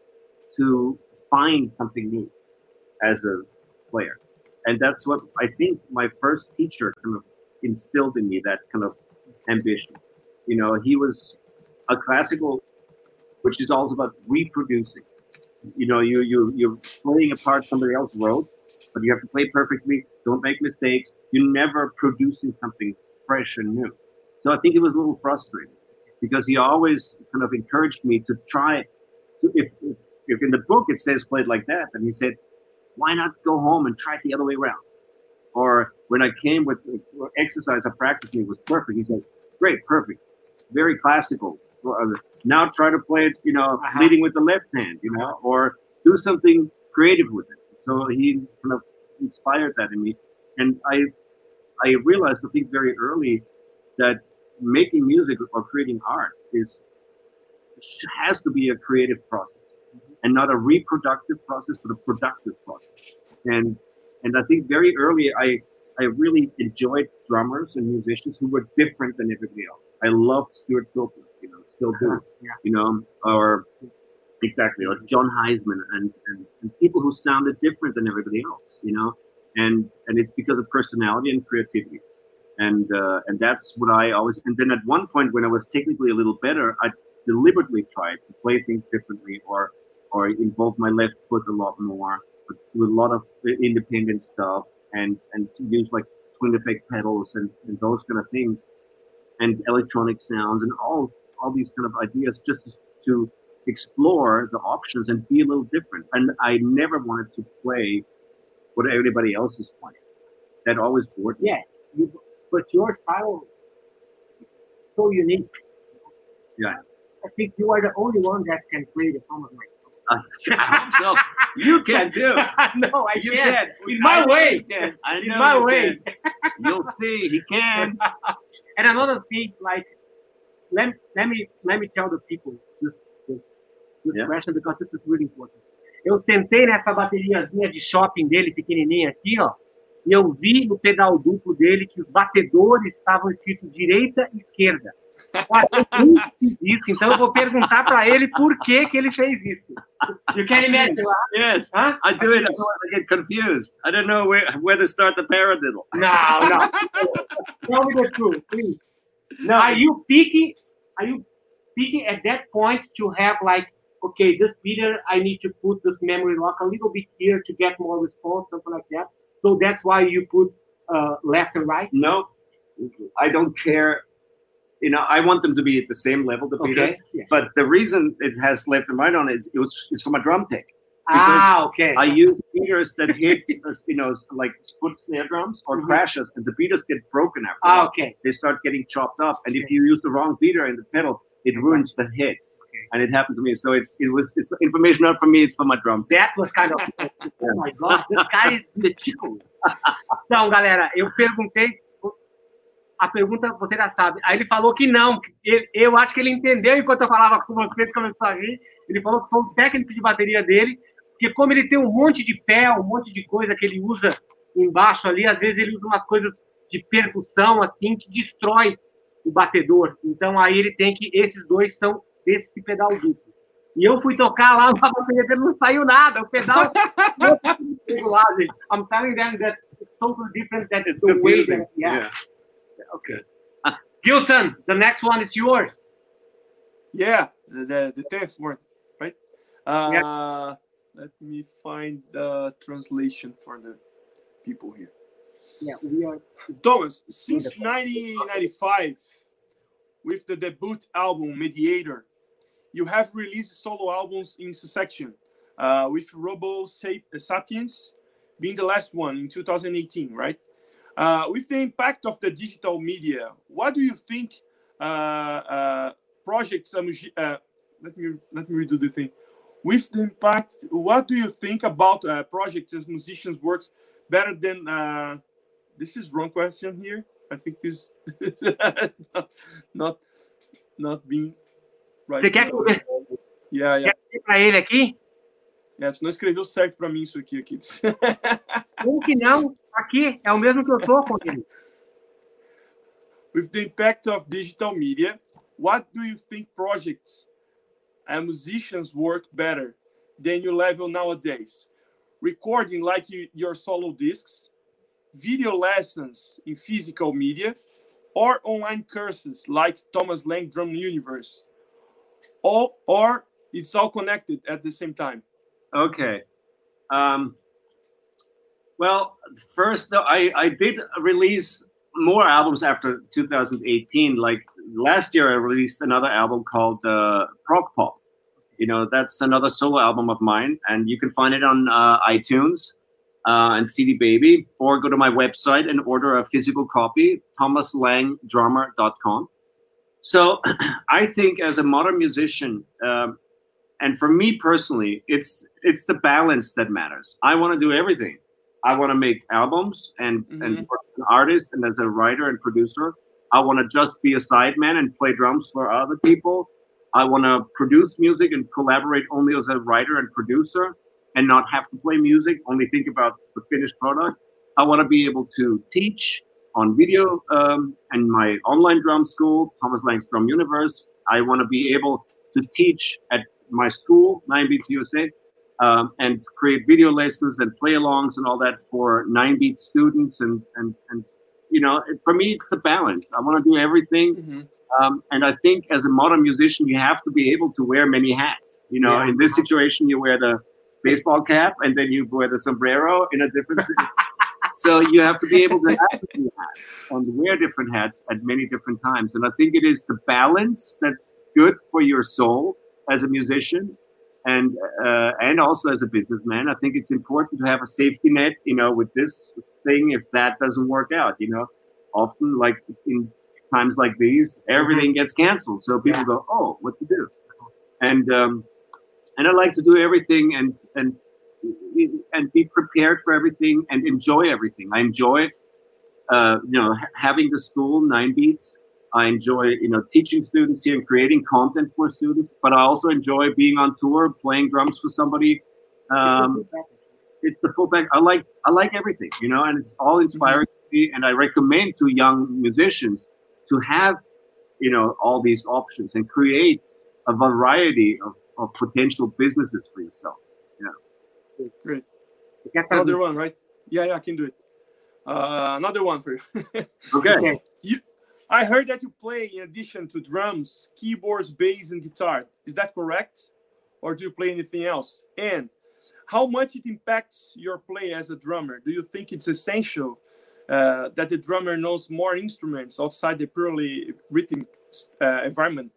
find something new as a player. And that's what I think my first teacher kind of instilled in me, that kind of ambition. You know, he was a classical, which is all about reproducing. You know, you're playing a part somebody else wrote, but you have to play perfectly. Don't make mistakes. You're never producing something fresh and new. So I think it was a little frustrating because he always kind of encouraged me to try. If in the book it says played like that, then he said, why not go home and try it the other way around? Or when I came with exercise, I practiced me, it was perfect. He said, great, perfect, very classical. Now try to play it, you know, leading with the left hand, you know, or do something creative with it. So he kind of inspired that in me. And I realized, I think very early, that making music or creating art has to be a creative process and not a reproductive process, but a productive process. And I think very early, I really enjoyed drummers and musicians who were different than everybody else. I loved Stuart Copeland, you know, still do, you know, or exactly, or John Heisman and people who sounded different than everybody else, you know, and it's because of personality and creativity. And that's what I always, and then at one point when I was technically a little better, I deliberately tried to play things differently or involve my left foot a lot more, but do a lot of independent stuff and to use like twin effect pedals and those kind of things and electronic sounds and all these kind of ideas just to explore the options and be a little different. And I never wanted to play what everybody else is playing. That always bored me. Yeah, but your style is so unique. Yeah. I think you are the only one that can play the song of my I hope so. You can too. No, I can't. In my way. In my way. You'll see. He can. And another thing, like, let me tell the people this question, because this is really important. Eu sentei nessa bateriazinha de shopping dele, pequenininha aqui, ó, e eu vi no pedal duplo dele que os batedores estavam escritos direita e esquerda. Isso, então eu vou perguntar para ele por que ele fez isso. You can imagine, right? Yes, huh? I do it. I get confused. I don't know where to start the paradiddle. No. Tell me the truth, please. No. Are you picking at that point to have like, okay, this video, I need to put this memory lock a little bit here to get more response, something like that? So that's why you put left and right? No, I don't care. You know, I want them to be at the same level, the beaters. Okay. Yeah. But the reason it has left and right on it is from a drum take. Okay. I use beaters that hit, you know, like foot snare drums or crashes, and the beaters get broken after that. Okay. They start getting chopped up, and if you use the wrong beater in the pedal, it ruins the hit. And it happened to me. So it's information not from me, it's from my drum. That was kind of, oh my God, this guy is meticulous. Então, galera, eu perguntei, a pergunta você já sabe. Aí ele falou que não. Eu acho que ele entendeu enquanto eu falava com vocês, começou a rir. Ele falou que foi o técnico de bateria dele, porque como ele tem um monte de pé, um monte de coisa que ele usa embaixo ali, às vezes ele usa umas coisas de percussão, assim, que destrói o batedor. Então, aí ele tem que... Esses dois são desse pedal duplo. E eu fui tocar lá na bateria dele, não saiu nada. O pedal... I'm telling them that it's totally different than the way that... Yeah. Okay. Gilson, the next one is yours. Yeah, the 10th one, right? Let me find the translation for the people here. Yeah, we are. Thomas, since 1995, with the debut album Mediator, you have released solo albums in succession, with Robo Sapiens being the last one in 2018, right? With the impact of the digital media, what do you think projects? Let me redo the thing. With the impact, what do you think about projects as musicians works better than? This is wrong question here. I think this not being right. Você quer Yeah. Quer dizer para ele aqui? Você não escreveu certo para mim isso aqui. Como que não? Aqui é o mesmo que eu tô com ele. With the impact of digital media, what do you think projects and musicians work better than your level nowadays? Recording like your solo discs, video lessons in physical media, or online courses like Thomas Lang Drum Universe? Or it's all connected at the same time? Okay. Well, first, though, I did release more albums after 2018. Like last year, I released another album called Prog Pop. You know, that's another solo album of mine, and you can find it on iTunes and CD Baby, or go to my website and order a physical copy, thomaslangdrummer.com. So I think as a modern musician, and for me personally, it's the balance that matters. I want to do everything. I want to make albums and work as an artist and as a writer and producer. I want to just be a sideman and play drums for other people. I want to produce music and collaborate only as a writer and producer and not have to play music, only think about the finished product. I want to be able to teach on video and my online drum school, Thomas Lang's Drum Universe. I want to be able to teach at my school, 9 Beats USA, and create video lessons and play-alongs and all that for 9 Beat students. And you know, for me, it's the balance. I want to do everything. And I think as a modern musician, you have to be able to wear many hats. You know, in this situation, you wear the baseball cap and then you wear the sombrero in a different city. So you have to be able to have different hats and wear different hats at many different times. And I think it is the balance that's good for your soul as a musician and also as a businessman. I think it's important to have a safety net, you know, with this thing if that doesn't work out. You know, often like in times like these, everything gets canceled. So people go, oh, what to do? And I like to do everything and be prepared for everything and enjoy everything. I enjoy, you know, having the school 9 Beats. I enjoy, you know, teaching students here and creating content for students. But I also enjoy being on tour, playing drums for somebody. It's the full pack. I like everything, you know, and it's all inspiring to me. And I recommend to young musicians to have you know, all these options and create a variety of potential businesses for yourself. Yeah. Great. Another one, right? Yeah, I can do it. Another one for you. Okay. I heard that you play, in addition to drums, keyboards, bass, and guitar. Is that correct? Or do you play anything else? And how much it impacts your play as a drummer? Do you think it's essential that the drummer knows more instruments outside the purely rhythm environment?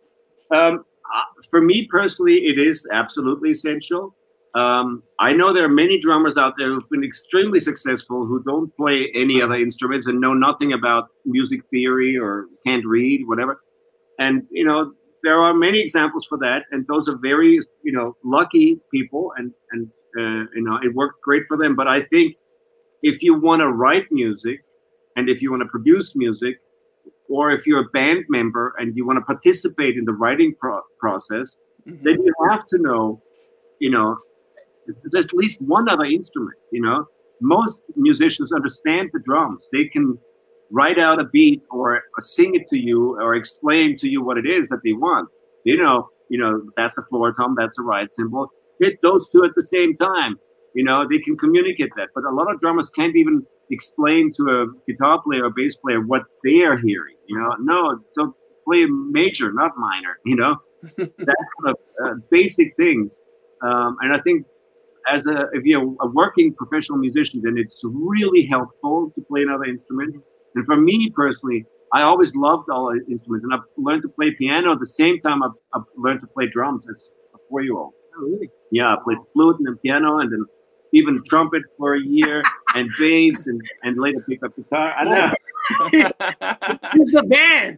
For me personally, it is absolutely essential. I know there are many drummers out there who've been extremely successful who don't play any other instruments and know nothing about music theory or can't read, whatever. And, you know, there are many examples for that. And those are very, you know, lucky people and you know, it worked great for them. But I think if you want to write music and if you want to produce music, or if you're a band member and you want to participate in the writing process, then you have to know, you know, there's at least one other instrument, you know. Most musicians understand the drums. They can write out a beat or sing it to you or explain to you what it is that they want. You know, that's a floor tom, that's a ride cymbal. Hit those two at the same time. You know, they can communicate that. But a lot of drummers can't even explain to a guitar player or bass player what they are hearing. You know, no, don't play major, not minor, you know. That kind of basic things. And I think if you're a working professional musician, then it's really helpful to play another instrument. And for me personally, I always loved all instruments, and I've learned to play piano at the same time I've learned to play drums as a 4-year-old. Oh, really? Yeah, I played flute and then piano and then even trumpet for a year and bass and later picked up guitar. I know. It's the band.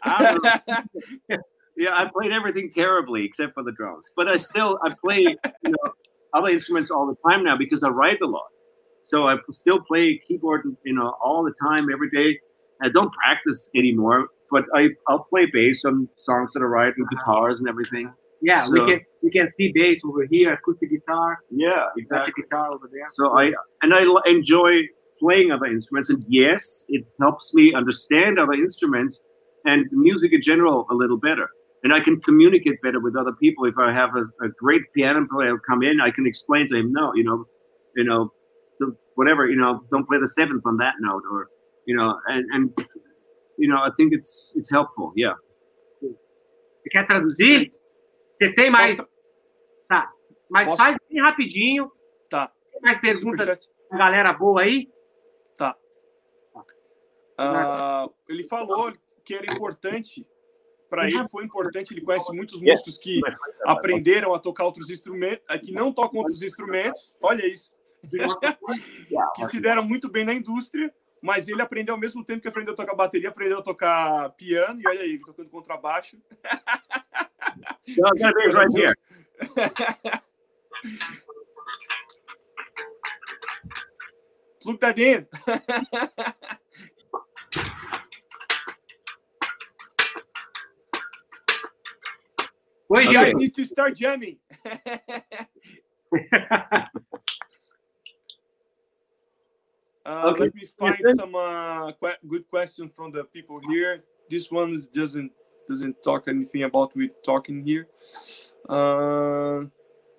Yeah, I played everything terribly except for the drums. But I play, you know, other instruments all the time now because I write a lot. So I still play keyboard, you know, all the time, every day. I don't practice anymore, but I'll play bass on songs that I write and guitars and everything. Yeah, so, we can see bass over here, acoustic guitar. Yeah, exactly. Guitar over there. So I enjoy playing other instruments, and yes, it helps me understand other instruments and music in general a little better. And I can communicate better with other people. If I have a great piano player come in, I can explain to him, no, you know, whatever, you know, don't play the 7th on that note, or, you know, and you know, I think it's helpful, yeah. Você quer traduzir? Você tem mais? Tá. Mas faz bem rapidinho. Tá. Tem mais perguntas da galera boa aí? Tá. Ele falou que era importante. Para ele foi importante, ele conhece muitos músicos que aprenderam a tocar outros instrumentos, que não tocam outros instrumentos, olha isso, que se deram muito bem na indústria, mas ele aprendeu ao mesmo tempo que aprendeu a tocar bateria, aprendeu a tocar piano, e olha aí, ele tocando contrabaixo. Right here. Plug that in. You guys need to start jamming. Let me find some good questions from the people here. This one doesn't talk anything about we talking here. So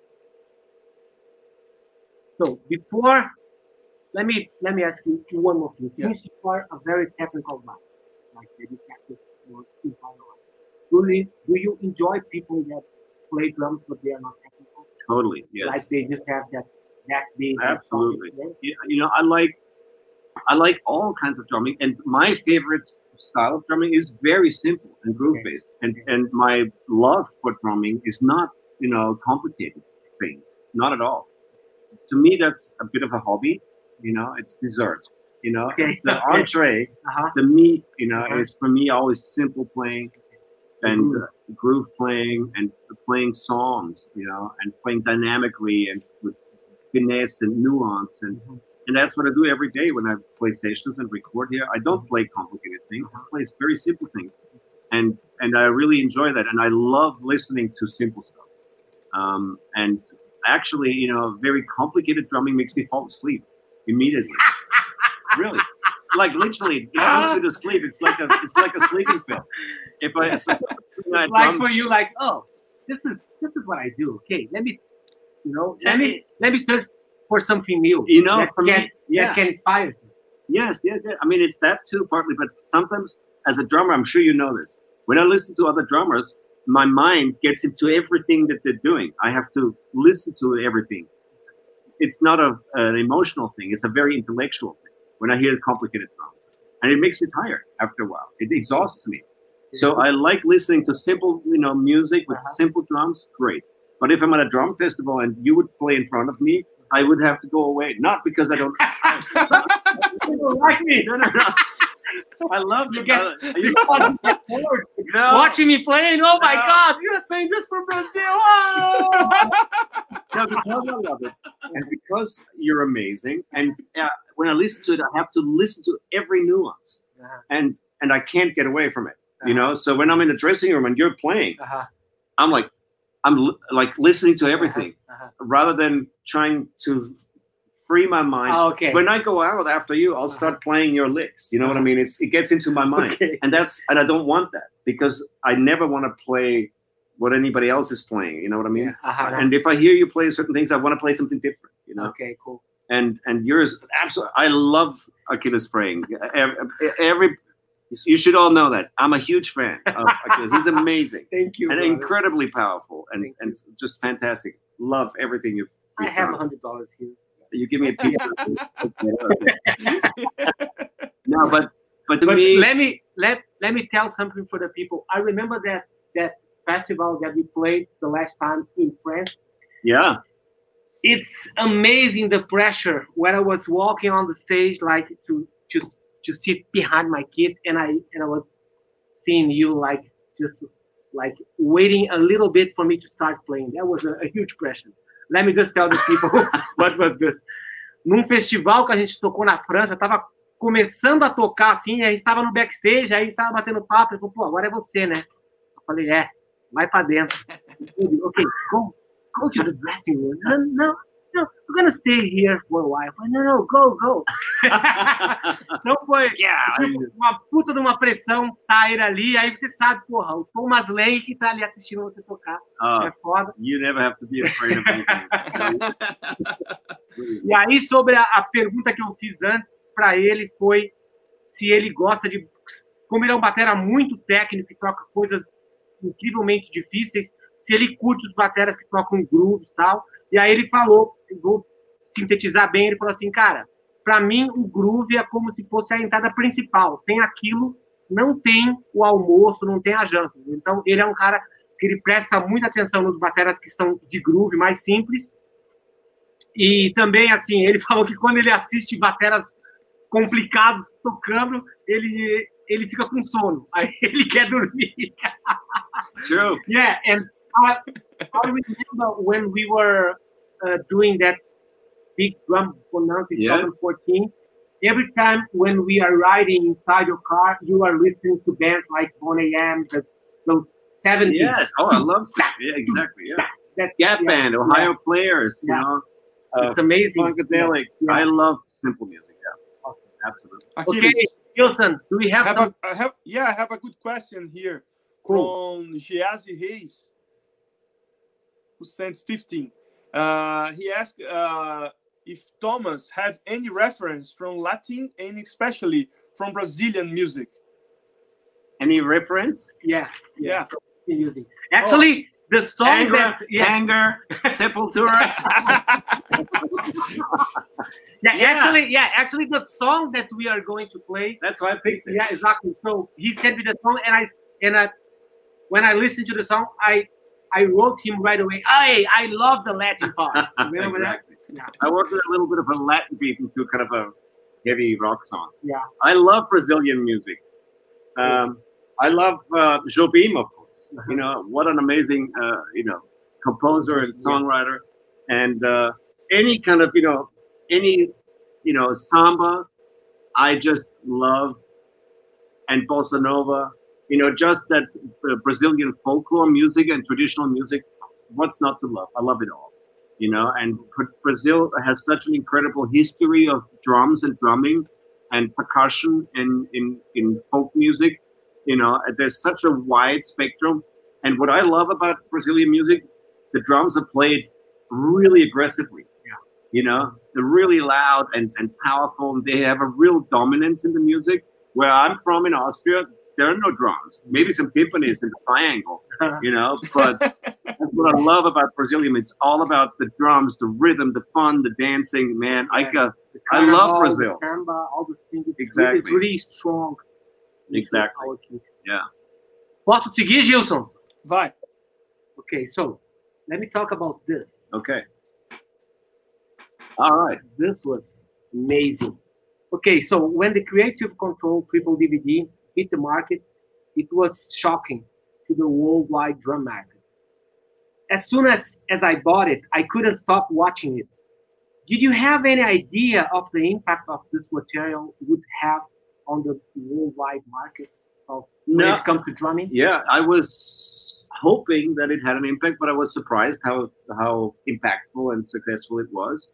before, let me ask you one more thing. Yeah. Since you are a very technical guy, like you practice your entire life, do you enjoy people that play drums but they are not technical? Totally, yes. Like they just have that beat. Absolutely. Yeah, you know, I like all kinds of drumming, and my favorite style of drumming is very simple and groove based. And my love for drumming is not, you know, complicated things. Not at all. To me, that's a bit of a hobby. You know, it's dessert. You know, the entree, the meat. You know, is for me always simple playing. And groove playing and playing songs, you know, and playing dynamically and with finesse and nuance, and that's what I do every day when I play sessions and record here. I don't play complicated things; I play very simple things, and I really enjoy that. And I love listening to simple stuff. And actually, you know, very complicated drumming makes me fall asleep immediately. Really, like literally, it puts you to sleep. It's like a sleeping pill. if I like for you, like, oh, this is what I do. Okay, let me search for something new. That can inspire you. Yes. I mean, it's that too, partly, but sometimes as a drummer, I'm sure you know this. When I listen to other drummers, my mind gets into everything that they're doing. I have to listen to everything. It's not an emotional thing. It's a very intellectual thing. When I hear complicated drums, and it makes me tired after a while. It exhausts me. So I like listening to simple, music with simple drums. Great. But if I'm at a drum festival and you would play in front of me, I would have to go away. Not because I don't. You don't like me. No. I love you. Watching me playing. Oh my God! You're saying this for Brazil. Oh! No, because I love it, and because you're amazing. And when I listen to it, I have to listen to every nuance, and I can't get away from it. So when I'm in the dressing room and you're playing, I'm like listening to everything rather than trying to free my mind. Oh, okay. When I go out after you, I'll start playing your licks. You know what I mean? It gets into my mind, and I don't want that because I never want to play what anybody else is playing. You know what I mean? And if I hear you play certain things, I want to play something different. Okay, cool. And yours, absolutely. I love Achilles praying. You should all know that. I'm a huge fan of Achilles. He's amazing. Thank you. And incredibly powerful and just fantastic. Love everything you've I have $100 here. You give me a piece. No, but to me, let me tell something for the people. I remember that festival that we played the last time in France. Yeah, it's amazing the pressure when I was walking on the stage, like to sit behind my kid, and I was seeing you just waiting a little bit for me to start playing. That was a huge pressure. Let me just tell the people what was this. Num festival que a gente tocou na França, tava começando a tocar assim, a gente tava no backstage, aí estava batendo papo, ele falou, pô, agora é você, né? Eu falei, vai pra dentro. Okay, go to the dressing room. No, we're gonna stay here for a while. No, go. Então foi uma puta de uma pressão Tyre ali, aí você sabe, porra, o Thomas Lane que tá ali assistindo você tocar. É foda. You never have to be afraid of anything. E aí, sobre a pergunta que eu fiz antes para ele foi se ele gosta de... Como ele é um batera muito técnico e toca coisas incrivelmente difíceis, se ele curte os bateras que tocam grooves e tal. E aí ele falou, vou sintetizar bem, ele falou assim, cara, para mim o groove é como se fosse a entrada principal. Sem aquilo, não tem o almoço, não tem a janta. Então, ele é um cara que ele presta muita atenção nos bateras que são de groove mais simples. E também, assim, ele falou que quando ele assiste bateras complicados tocando, ele fica com sono. Aí ele quer dormir. True. Yeah, and I remember when we were doing that big drum bonanza in 2014. Every time when we are riding inside your car, you are listening to bands like Boney M, those 70s. Yes, I love that. Yeah, exactly. Yeah, that Gap Band, Ohio Players. You know, it's amazing. Funkadelic. Yeah. I love simple music. Yeah, absolutely. Okay, Wilson, do we have some? I have a good question here from Giazi Reis, who sends 15. He asked if Thomas have any reference from Latin and especially from Brazilian music. Any reference? Yeah. Actually, the song Anger, Sepultura. Actually, the song that we are going to play. That's why I picked it. Yeah, exactly. So he sent me the song, and when I listened to the song, I wrote him right away. I love the Latin part. Remember exactly. that? Yeah. I worked with a little bit of a Latin piece into kind of a heavy rock song. Yeah. I love Brazilian music. I love Jobim, of course. You know, what an amazing, composer and songwriter. And any kind of, samba, I just love. And bossa nova, just that Brazilian folklore music and traditional music. What's not to love? I love it all. And Brazil has such an incredible history of drums and drumming and percussion in folk music. You know, there's such a wide spectrum. And what I love about Brazilian music, the drums are played really aggressively. Yeah. You know, they're really loud and powerful. And they have a real dominance in the music. Where I'm from in Austria, there are no drums. Maybe some timpanis in the triangle, you know, but that's what I love about Brazilian. It's all about the drums, the rhythm, the fun, the dancing, man. Yeah. I love Brazil. The samba, all those things. Exactly. It's really strong. Exactly. Yeah. Posso seguir, Gilson? Vai. Okay, so let me talk about this. Okay. All right. This was amazing. Okay, so when the Creative Control Triple DVD hit the market, it was shocking to the worldwide drum market. As soon as I bought it, I couldn't stop watching it. Did you have any idea of the impact of this material would have on the worldwide market when it comes to drumming? Yeah, I was hoping that it had an impact, but I was surprised how impactful and successful it was.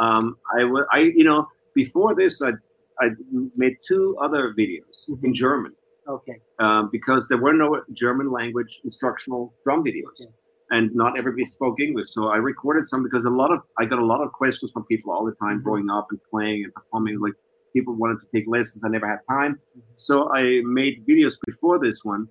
You know, before this, I made 2 other videos in German. Okay. Because there were no German language instructional drum videos. Okay. And not everybody spoke English. So I recorded some because I got a lot of questions from people all the time growing up and playing and performing. Like people wanted to take lessons. I never had time. So I made videos before this one.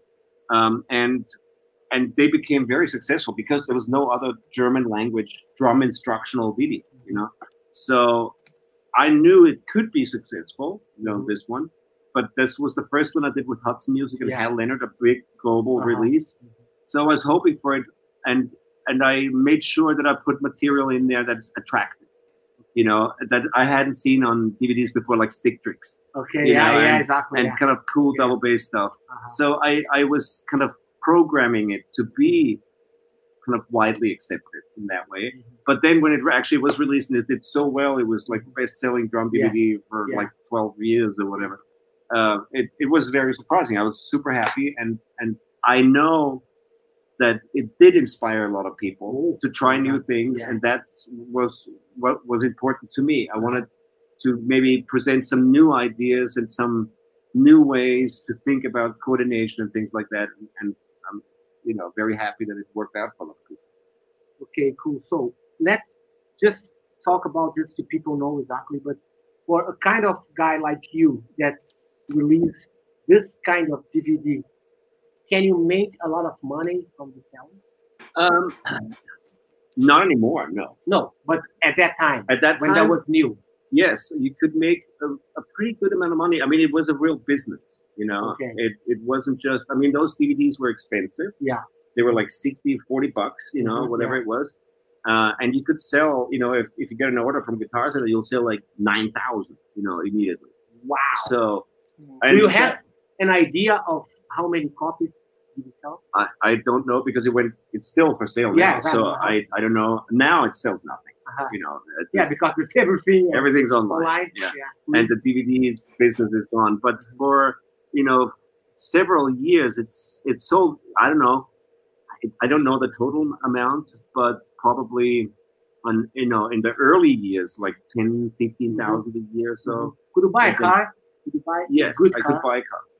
And they became very successful because there was no other German language drum instructional video, you know. So I knew it could be successful, you know, this one. But this was the first one I did with Hudson Music and Hal Leonard, a big global release. So I was hoping for it. And I made sure that I put material in there that's attractive, you know, that I hadn't seen on DVDs before, like Stick Tricks. Okay, exactly. And kind of cool double bass stuff. So I was kind of programming it to be kind of widely accepted in that way. But then when it actually was released and it did so well, it was like best-selling drum DVD for like 12 years or whatever. It was very surprising. I was super happy. And I know that it did inspire a lot of people to try new things, and that was what was important to me. I wanted to maybe present some new ideas and some new ways to think about coordination and things like that. And I'm, you know, very happy that it worked out for a lot of people. Okay, cool. So let's just talk about this so people know exactly. But for a kind of guy like you that release this kind of DVD, can you make a lot of money from the selling? Not anymore, no. No, but at that time, when that was new, yes, you could make a pretty good amount of money. I mean, it was a real business, you know. Okay. It wasn't just. I mean, those DVDs were expensive. Yeah. They were like $60, $40, you know, whatever it was. And you could sell, you know, if you get an order from Guitar Center, you'll sell like 9,000, you know, immediately. Wow. So, do you have an idea of how many copies did you sell? I don't know because it's still for sale now. Yeah, so I don't know. Now it sells nothing. You know. Because it's everything. Everything's online. Yeah. And the DVD business is gone. But for, you know, several years, it's sold. I don't know. I don't know the total amount, but probably on, you know, in the early years, like 10, 15,000 a year or so. Could you buy a car? Could you buy a good car? I could buy a car.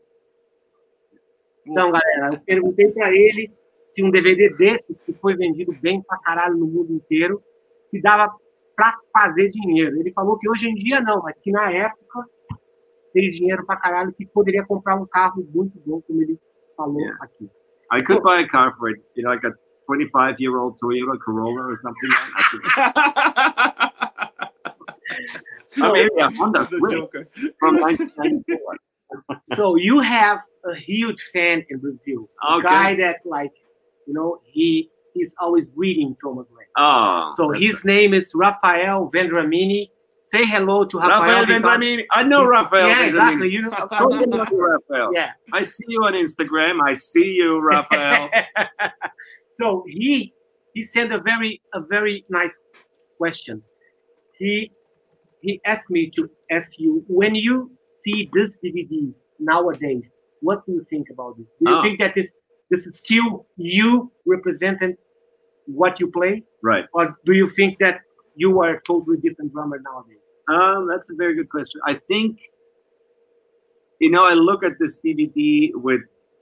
Então, galera, eu perguntei para ele se um DVD desse, que foi vendido bem pra caralho no mundo inteiro, se dava pra fazer dinheiro. Ele falou que hoje em dia não, mas que na época fez dinheiro pra caralho, que poderia comprar um carro muito bom, como ele falou aqui. I could buy a car for it, you know, like a 25-year-old Toyota Corolla or something like that. Maybe a Honda Civic from 1994. So you have a huge fan in Brazil. A guy that, like, you know, he's always reading Thomas Gray. Oh. So his name is Rafael Vendramini. Say hello to Rafael Vendramini. I know Rafael. Yeah, exactly. You know Rafael. Yeah. I see you on Instagram. I see you, Rafael. So he sent a very nice question. He asked me to ask you, when you see this DVD nowadays, what do you think about this? Do you think that this is still you representing what you play? Right. Or do you think that you are a totally different drummer nowadays? That's a very good question. I think, you know, I look at this DVD with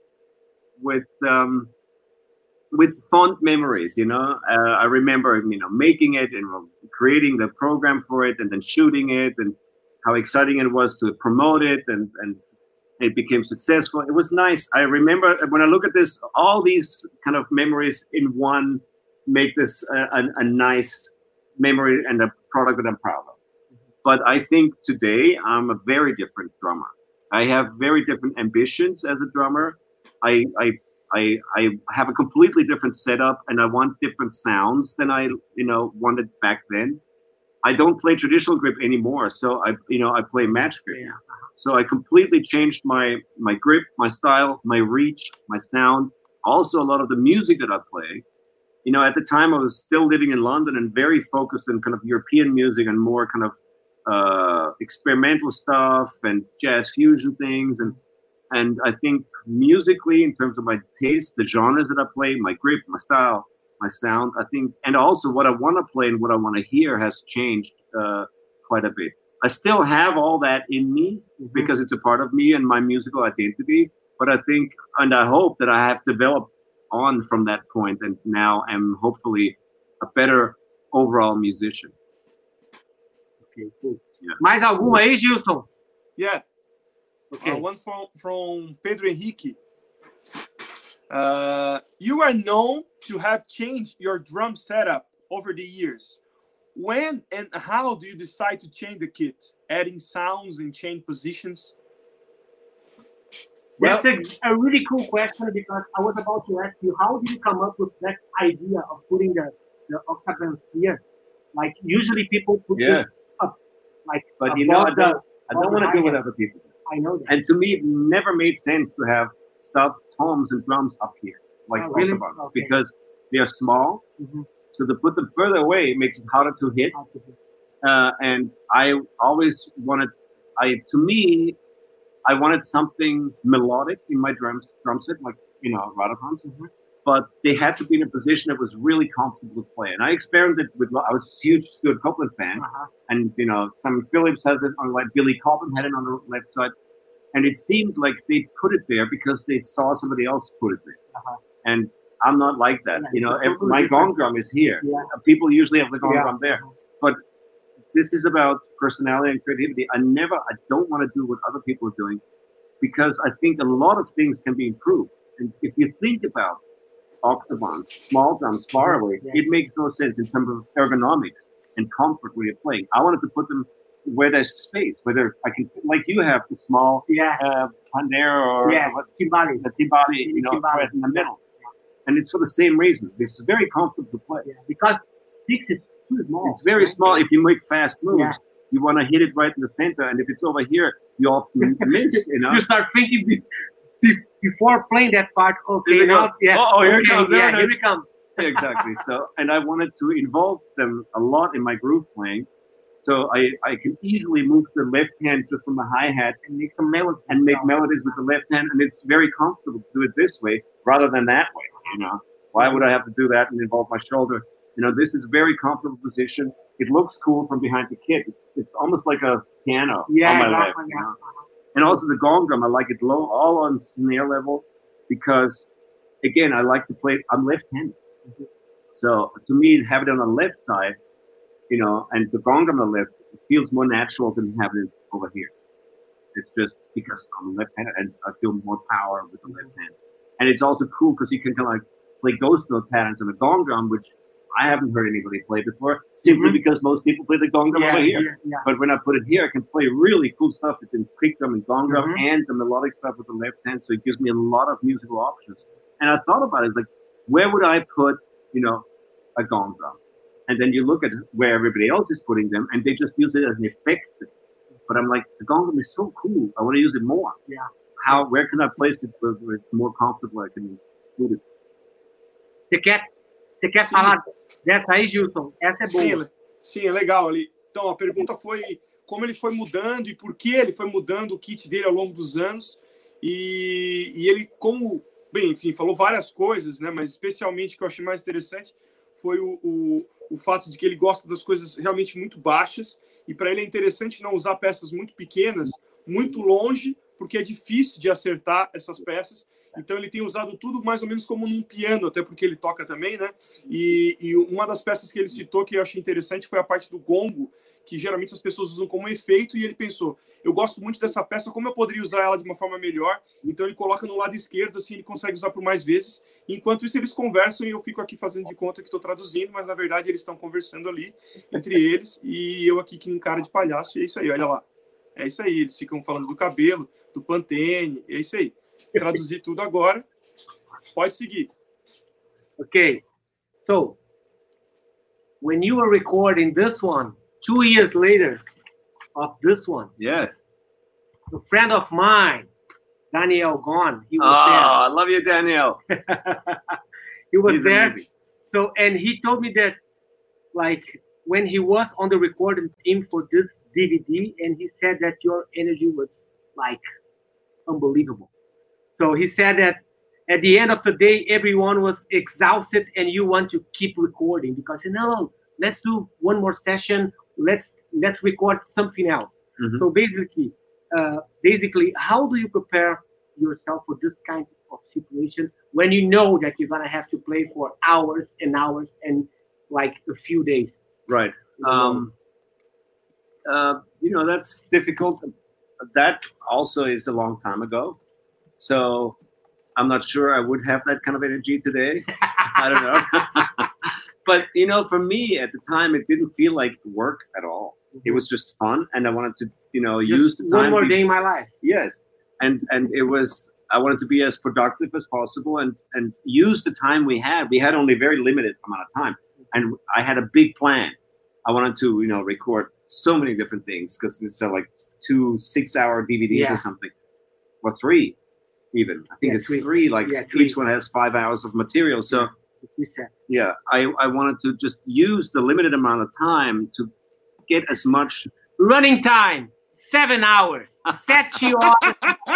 fond memories. You know, I remember making it and creating the program for it, and then shooting it, and how exciting it was to promote it, and it became successful. It was nice. I remember when I look at this, all these kind of memories in one make this a nice memory and a product that I'm proud of. But I think today I'm a very different drummer. I have very different ambitions as a drummer. I have a completely different setup, and I want different sounds than I wanted back then. I don't play traditional grip anymore, so I play match grip. Yeah. So I completely changed my grip, my style, my reach, my sound. Also, a lot of the music that I play. You know, at the time I was still living in London and very focused on kind of European music and more kind of experimental stuff and jazz fusion things, and I think musically, in terms of my taste, the genres that I play, my grip, my style, my sound, I think, and also what I want to play and what I want to hear has changed quite a bit. I still have all that in me because it's a part of me and my musical identity, but I think, and I hope that I have developed on from that point, and now I'm hopefully a better overall musician. Okay, cool. Yeah. Mais alguma aí, Gilson? Yeah. Okay. One from Pedro Henrique. You are known to have changed your drum setup over the years. When and how do you decide to change the kit? Adding sounds and change positions? That's a really cool question, because I was about to ask you, how did you come up with that idea of putting the octagon here? Like, usually people put this up, like, but I don't want to do what other people do. I know that. And to me, it never made sense to have stuffed toms and drums up here, like octagons, because they are small. So to put them further away, it makes it harder to hit. And I always wanted, I wanted something melodic in my drum set, like, Radicons. But they had to be in a position that was really comfortable to play. And I experimented with, I was a huge Stuart Copeland fan. And, Simon Phillips has it on, like, Billy Cobham had it on the left side. And it seemed like they put it there because they saw somebody else put it there. And I'm not like that. My gong drum is here. People usually have the gong drum there. But this is about personality and creativity. I don't want to do what other people are doing, because I think a lot of things can be improved. And if you think about octagons, small drums far away, it makes no sense in terms of ergonomics and comfort when you're playing. I wanted to put them where there's space, whether I can, like you have the small Pandero or Timbali, right in the middle. And it's for the same reason. It's very comfortable to play. Because 6 is too small. It's very small. If you make fast moves, you want to hit it right in the center. And if it's over here, you often miss, You start thinking before playing that part, here it comes. Here it comes. Exactly. So, and I wanted to involve them a lot in my groove playing. So I can easily move the left hand just from the hi-hat and make some melodies with the left hand. And it's very comfortable to do it this way rather than that way. Why would I have to do that and involve my shoulder? This is a very comfortable position. It looks cool from behind the kit. It's almost like a piano on my left. And also the gong drum, I like it low, all on snare level, because, again, I like to play, I'm left-handed. So to me, have it on the left side, and the gong drum on the left, it feels more natural than having it over here. It's just because I'm left-handed and I feel more power with the left hand. And it's also cool because you can kind of like play ghost note patterns on the gong drum, which I haven't heard anybody play before, simply because most people play the gong drum over here. But when I put it here, I can play really cool stuff between kick drum and gong drum and the melodic stuff with the left hand. So it gives me a lot of musical options. And I thought about it, like, where would I put, a gong drum? And then you look at where everybody else is putting them, and they just use it as an effect. But I'm like, the gong drum is so cool. I want to use it more. Where can I place it where it's more comfortable? I can include it. Você quer falar dessa aí, Gilson? Essa é boa. Sim, é legal ali. Então, a pergunta foi como ele foi mudando e por que ele foi mudando o kit dele ao longo dos anos. E ele, enfim, falou várias coisas, né? Mas especialmente o que eu achei mais interessante foi o fato de que ele gosta das coisas realmente muito baixas. E para ele é interessante não usar peças muito pequenas, muito longe, porque é difícil de acertar essas peças. Então ele tem usado tudo mais ou menos como num piano, até porque ele toca também, né? E uma das peças que ele citou que eu achei interessante foi a parte do gongo, que geralmente as pessoas usam como efeito, e ele pensou, eu gosto muito dessa peça, como eu poderia usar ela de uma forma melhor? Então ele coloca no lado esquerdo, assim ele consegue usar por mais vezes. Enquanto isso eles conversam e eu fico aqui fazendo de conta que estou traduzindo, mas na verdade eles estão conversando ali entre eles e eu aqui que cara de palhaço, e é isso aí, olha lá. É isso aí, eles ficam falando do cabelo, do Pantene, é isso aí. Traduzir tudo agora. Pode seguir. Okay. So, when you were recording this one, 2 years later of this one, yes, a friend of mine, Daniel Gon, he was there. I love you, Daniel. He was there. Amazing. So, and he told me that, like, when he was on the recording team for this DVD, and he said that your energy was like unbelievable. So he said that at the end of the day, everyone was exhausted and you want to keep recording because, you know, let's do one more session. Let's record something else. Mm-hmm. So basically, how do you prepare yourself for this kind of situation when you know that you're going to have to play for hours and hours and like a few days? Right. You know, that's difficult. That also is a long time ago. So I'm not sure I would have that kind of energy today. I don't know. But, you know, for me at the time, it didn't feel like work at all. It was just fun. And I wanted to, you know, just use the time. One more day in my life. Yes. And it was, I wanted to be as productive as possible and use the time we had. We had only a very limited amount of time. And I had a big plan. I wanted to, you know, record so many different things because it's like 2 6-hour DVDs or something, or 3 even. I think it's 3. Like each one has 5 hours of material. So yeah, I wanted to just use the limited amount of time to get as much running time. 7 hours. 7 hours.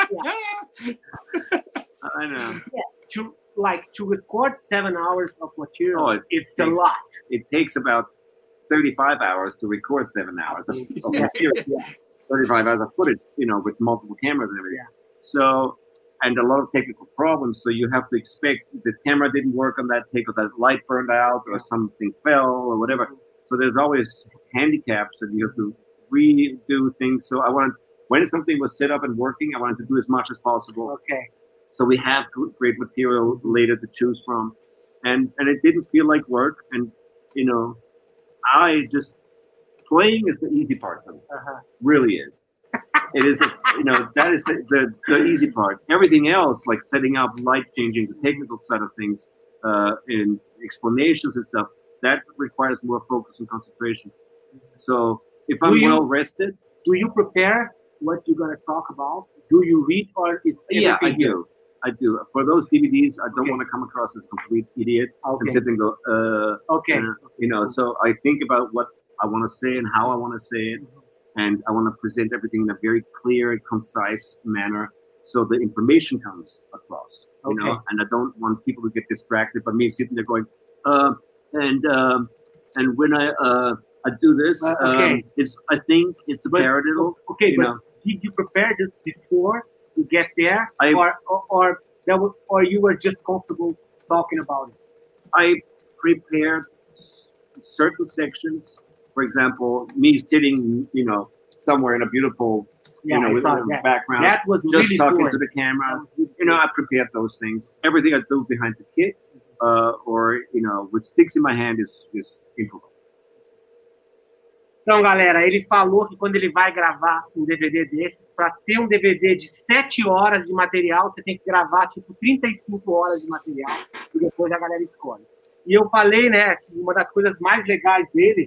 I know. Yeah. To record 7 hours of material, it's a lot. It takes about 35 hours to record 7 hours of material. 35 hours of footage, you know, with multiple cameras and everything. Yeah. So, and a lot of technical problems. So you have to expect this camera didn't work on that take, or that light burned out, or something fell, or whatever. So there's always handicaps that you have to redo things. So when something was set up and working, I wanted to do as much as possible. Okay. So we have great material later to choose from. And it didn't feel like work. And, you know, playing is the easy part for me. Really is. It is, you know, that is the easy part. Everything else, like setting up, light changing, the technical side of things, in explanations and stuff, that requires more focus and concentration. So if I'm well rested. Do you prepare what you're going to talk about? Do you read or is I do. I do. For those DVDs, I don't want to come across as a complete idiot and sit and go, you know, so I think about what I want to say and how I want to say it. And I want to present everything in a very clear and concise manner so the information comes across, you know, and I don't want people to get distracted by me sitting there going, and when I do this, I think it's a paradiddle. Okay, but did you prepare this before you get there, or you were just comfortable talking about it? I prepared certain sections. For example, me sitting, you know, somewhere in a beautiful, you know, with a background, that was just really talking to the camera. You know, I prepared those things. Everything I do behind the kit, or you know, with sticks in my hand is improvised. Então, galera, ele falou que quando ele vai gravar um DVD desses, para ter um DVD de 7 horas de material, você tem que gravar, tipo, 35 horas de material, e depois a galera escolhe. E eu falei, né, que uma das coisas mais legais dele...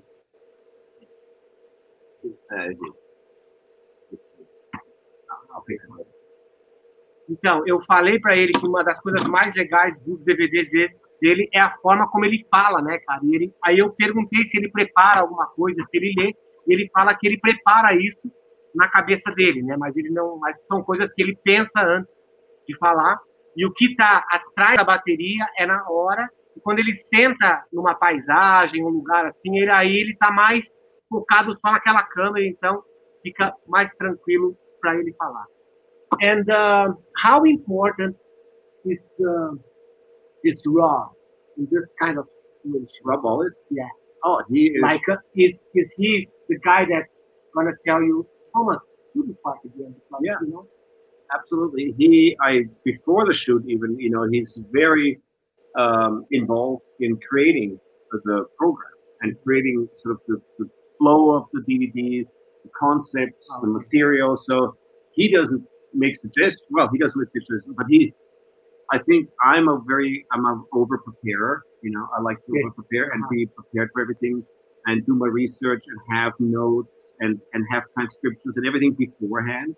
Então, eu falei para ele que uma das coisas mais legais dos DVDs dele é a forma como ele fala, né, cara? Aí eu perguntei se ele prepara alguma coisa, se ele lê, e ele fala que ele prepara isso na cabeça dele, né? Mas são coisas que ele pensa antes de falar. E o que está atrás da bateria é na hora, e quando ele senta numa paisagem, um lugar assim, ele está mais focado só naquela câmera, então fica mais tranquilo para ele falar. And how important is Rob in this kind of situation? Rob Wallace? Yeah. Oh, he is. Like, is he the guy that's gonna tell you, Thomas, do the part again? Because, yeah. You know? Absolutely. Before the shoot, even, you know, he's very involved in creating the program and creating sort of the flow of the DVDs, the concepts, the material. So he doesn't make suggestions. Well, he doesn't make suggestions, but I think I'm an over preparer. You know, I like to over prepare and be prepared for everything and do my research and have notes and have transcriptions and everything beforehand.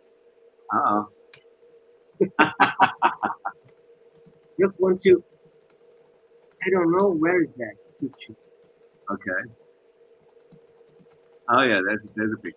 Just want to, I don't know, where is that picture? Okay. Oh yeah, there's a picture.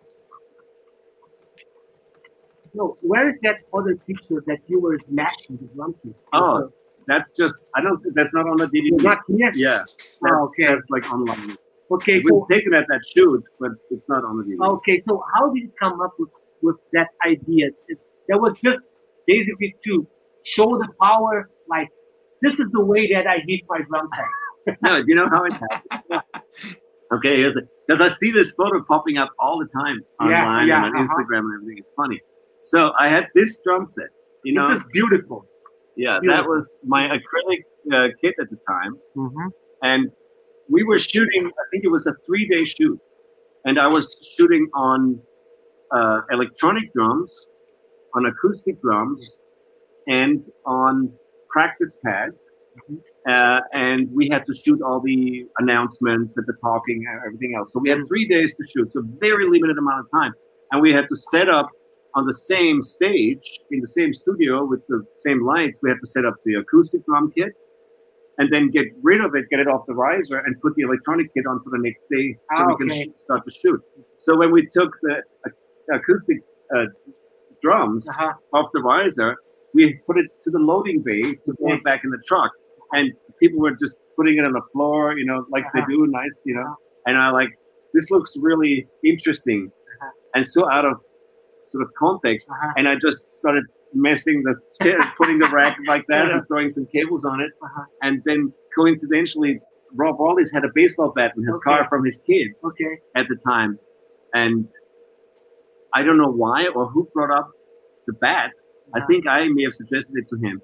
No, where is that other picture that you were smashing the drum kit? Oh, that's just, that's not on the DVD. Not here? Yeah. That's like online. Okay, it was taken at that shoot, but it's not on the DVD. Okay, so how did you come up with that idea? That was just basically to show the power, like, this is the way that I hit my drum set. No, you know how it happened? Okay, because I see this photo popping up all the time online and on Instagram and everything. It's funny. So I had this drum set. You know, this is beautiful. Yeah, that was my acrylic kit at the time. And we were shooting, I think it was a 3-day shoot. And I was shooting on electronic drums, on acoustic drums, and on practice pads. And we had to shoot all the announcements and the talking and everything else. So we had 3 days to shoot, so very limited amount of time. And we had to set up on the same stage, in the same studio with the same lights. We had to set up the acoustic drum kit and then get rid of it, get it off the riser, and put the electronic kit on for the next day so we can start to shoot. So when we took the acoustic drums off the riser, we put it to the loading bay to put it back in the truck. And people were just putting it on the floor, you know, like they do, nice, you know. And I like, this looks really interesting and so out of sort of context. And I just started messing the kit, putting the rack like that and throwing some cables on it. And then coincidentally, Rob Wallace had a baseball bat in his car from his kids at the time. And I don't know why or who brought up the bat. I think I may have suggested it to him.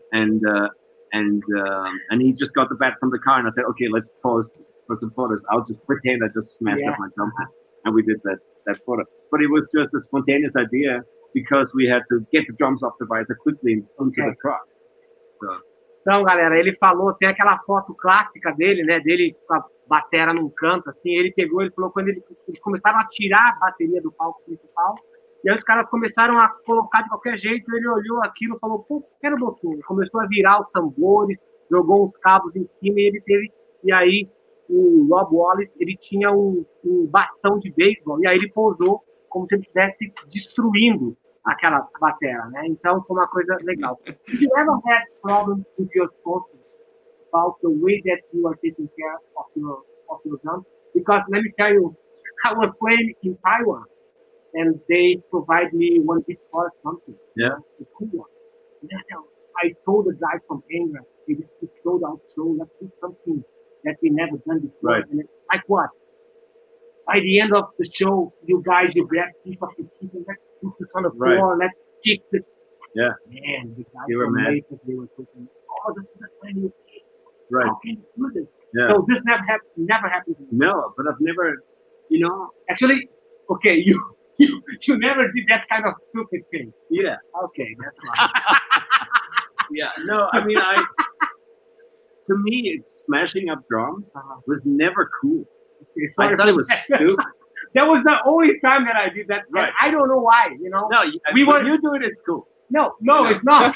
And he just got the bat from the car, and I said, okay, let's pose for some photos. I'll just pretend I just smashed up my drum set. And we did that photo. But it was just a spontaneous idea because we had to get the drums off the riser quickly into the truck. So. Então, galera, ele falou, tem aquela foto clássica dele, né, dele com a batera num canto, assim, ele pegou, ele falou, quando eles começaram a tirar a bateria do palco principal, e aí os caras começaram a colocar de qualquer jeito, ele olhou aquilo e falou, pô, quero botar. Começou a virar os tambores, jogou uns cabos em cima e ele teve, e aí o Rob Wallace, ele tinha um bastão de beisebol, e aí ele pousou como se ele estivesse destruindo aquela batera, né? Então foi uma coisa legal. Did you ever had problems with your sponsors about the way that you are taking care of your drums? Because let me tell you, I was playing in Taiwan, and they provide me one beat for something. Yeah. The cool one. And I told the guy from Anger, it is a sold out show, let's do something that we never done before. Right. And like what? By the end of the show, you guys, you grab a piece of the chicken, let's put this on the floor, let's kick the... Yeah. Man, the guys they were mad. They were thinking, oh, this is a brand new kid. Right. How can you do this? Yeah. So this never happened to me. No, but I've never, you know... Actually, okay, you never did that kind of stupid thing. Yeah. Okay, that's right. Yeah, no, I mean, to me, it's smashing up drums was never cool. Okay, I thought it was stupid. That was the only time that I did that. Right. I don't know why, you know. No, when you do it, it's cool. No, it's not.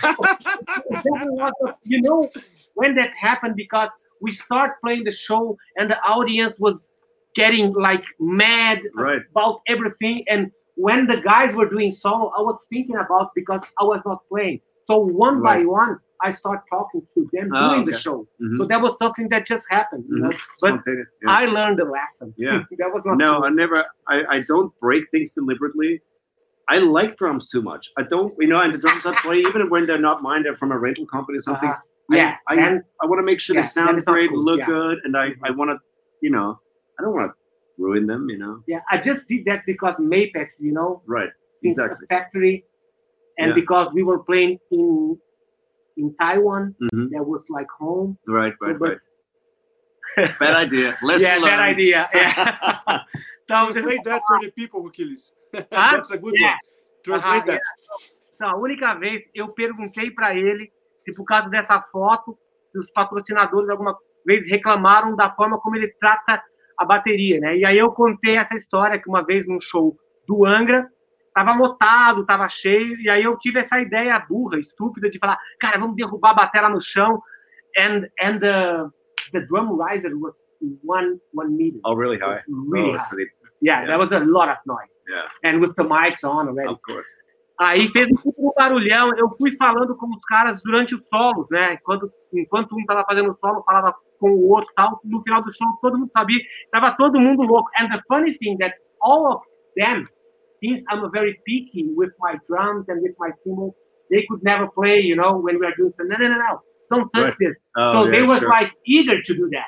You know, when that happened, because we start playing the show and the audience was getting like mad about everything. And when the guys were doing solo, I was thinking about, because I was not playing. So one by one, I start talking to them during the show. So that was something that just happened. You know? But I learned the lesson. Yeah. That was not no, cool. I don't break things deliberately. I like drums too much. I don't, and the drums I play, even when they're not mine, they're from a rental company or something. Yeah. I want to make sure they sound great, cool. Look good, and I want to, I don't want to ruin them, Yeah, I just did that because Mapex, right, since the factory, and because we were playing in Taiwan, that was like home. Right. Bad idea. Lesson learned. Bad idea. Yeah. Translate that for the people, Achilles. That's a good one. Translate that. Então, a única vez eu perguntei para ele se por causa dessa foto, os patrocinadores alguma vez reclamaram da forma como ele trata a bateria, né? E aí eu contei essa história que uma vez num show do Angra, tava lotado, tava cheio, e aí eu tive essa ideia burra, estúpida, de falar, cara, vamos derrubar a bateria no chão, and the drum riser was 1 meter. Oh, really high? Really high. So that was a lot of noise. Yeah. And with the mics on already. Of course. Aí fez um barulhão, eu fui falando com os caras durante os solos, né? Enquanto um tava fazendo o solo, falava com o outro, tal. No final do show, todo mundo sabia, tava todo mundo louco. And the funny thing that all of them, since I'm very picky with my drums and with my cymbals, they could never play, when we are doing something. No, don't touch this. Oh, so they was like eager to do that.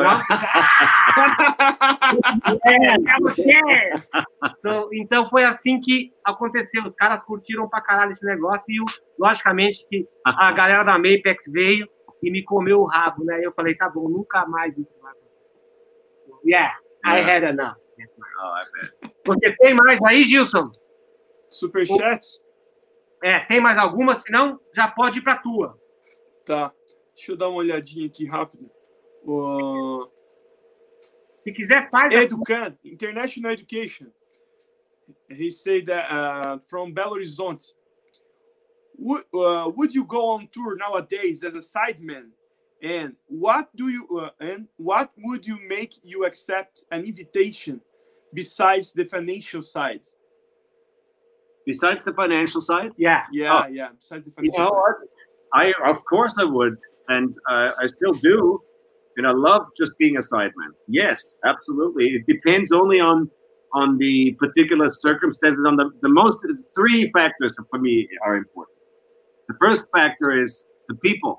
Yes. Então foi assim que aconteceu. Os caras curtiram pra caralho esse negócio e, logicamente, que a galera da Mapex veio e me comeu o rabo, né? Eu falei, tá bom, nunca mais isso vai acontecer. I had enough. Você tem mais aí, Gilson? Superchat? Tem mais alguma? Senão, já pode ir pra tua. Tá. Deixa eu dar uma olhadinha aqui rápido. Se quiser, faz. Educan, International Education. He said that from Belo Horizonte. Would you go on tour nowadays as a sideman? And what would you make you accept an invitation besides the financial side? Besides the financial side? Yeah. Besides the financial side. Of course I would, and I still do. And I love just being a sideman. Yes, absolutely. It depends only on the particular circumstances. On the most 3 factors for me are important. The first factor is the people.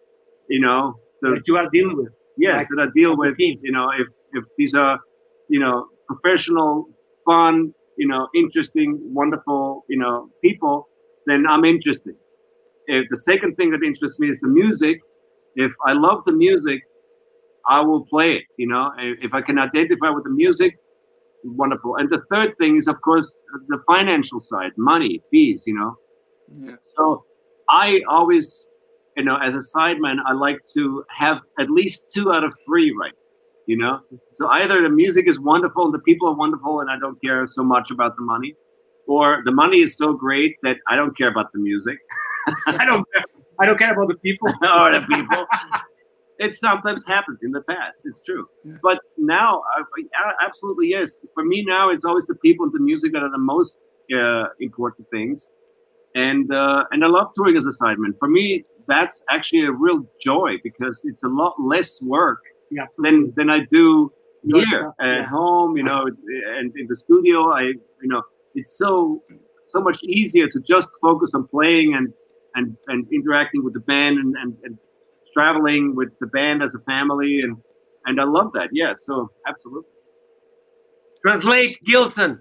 That you are dealing with. Yes, that I deal with. If these are, professional, fun, interesting, wonderful, people, then I'm interested. If the second thing that interests me is the music. If I love the music, I will play it, If I can identify with the music, wonderful. And the third thing is, of course, the financial side, money, fees, Yeah. So I always, as a sideman, I like to have at least 2 out of 3 right, So either the music is wonderful and the people are wonderful and I don't care so much about the money, or the money is so great that I don't care about the music. I don't care about the people. Or the people. It sometimes happens in the past. It's true. Yeah. But now, absolutely, yes. For me now, it's always the people and the music that are the most important things. And I love touring as a sideman. For me, that's actually a real joy because it's a lot less work than I do here at home, and in the studio. It's so much easier to just focus on playing and interacting with the band and traveling with the band as a family, and I love that. Yeah, so absolutely. Translate, Gilson.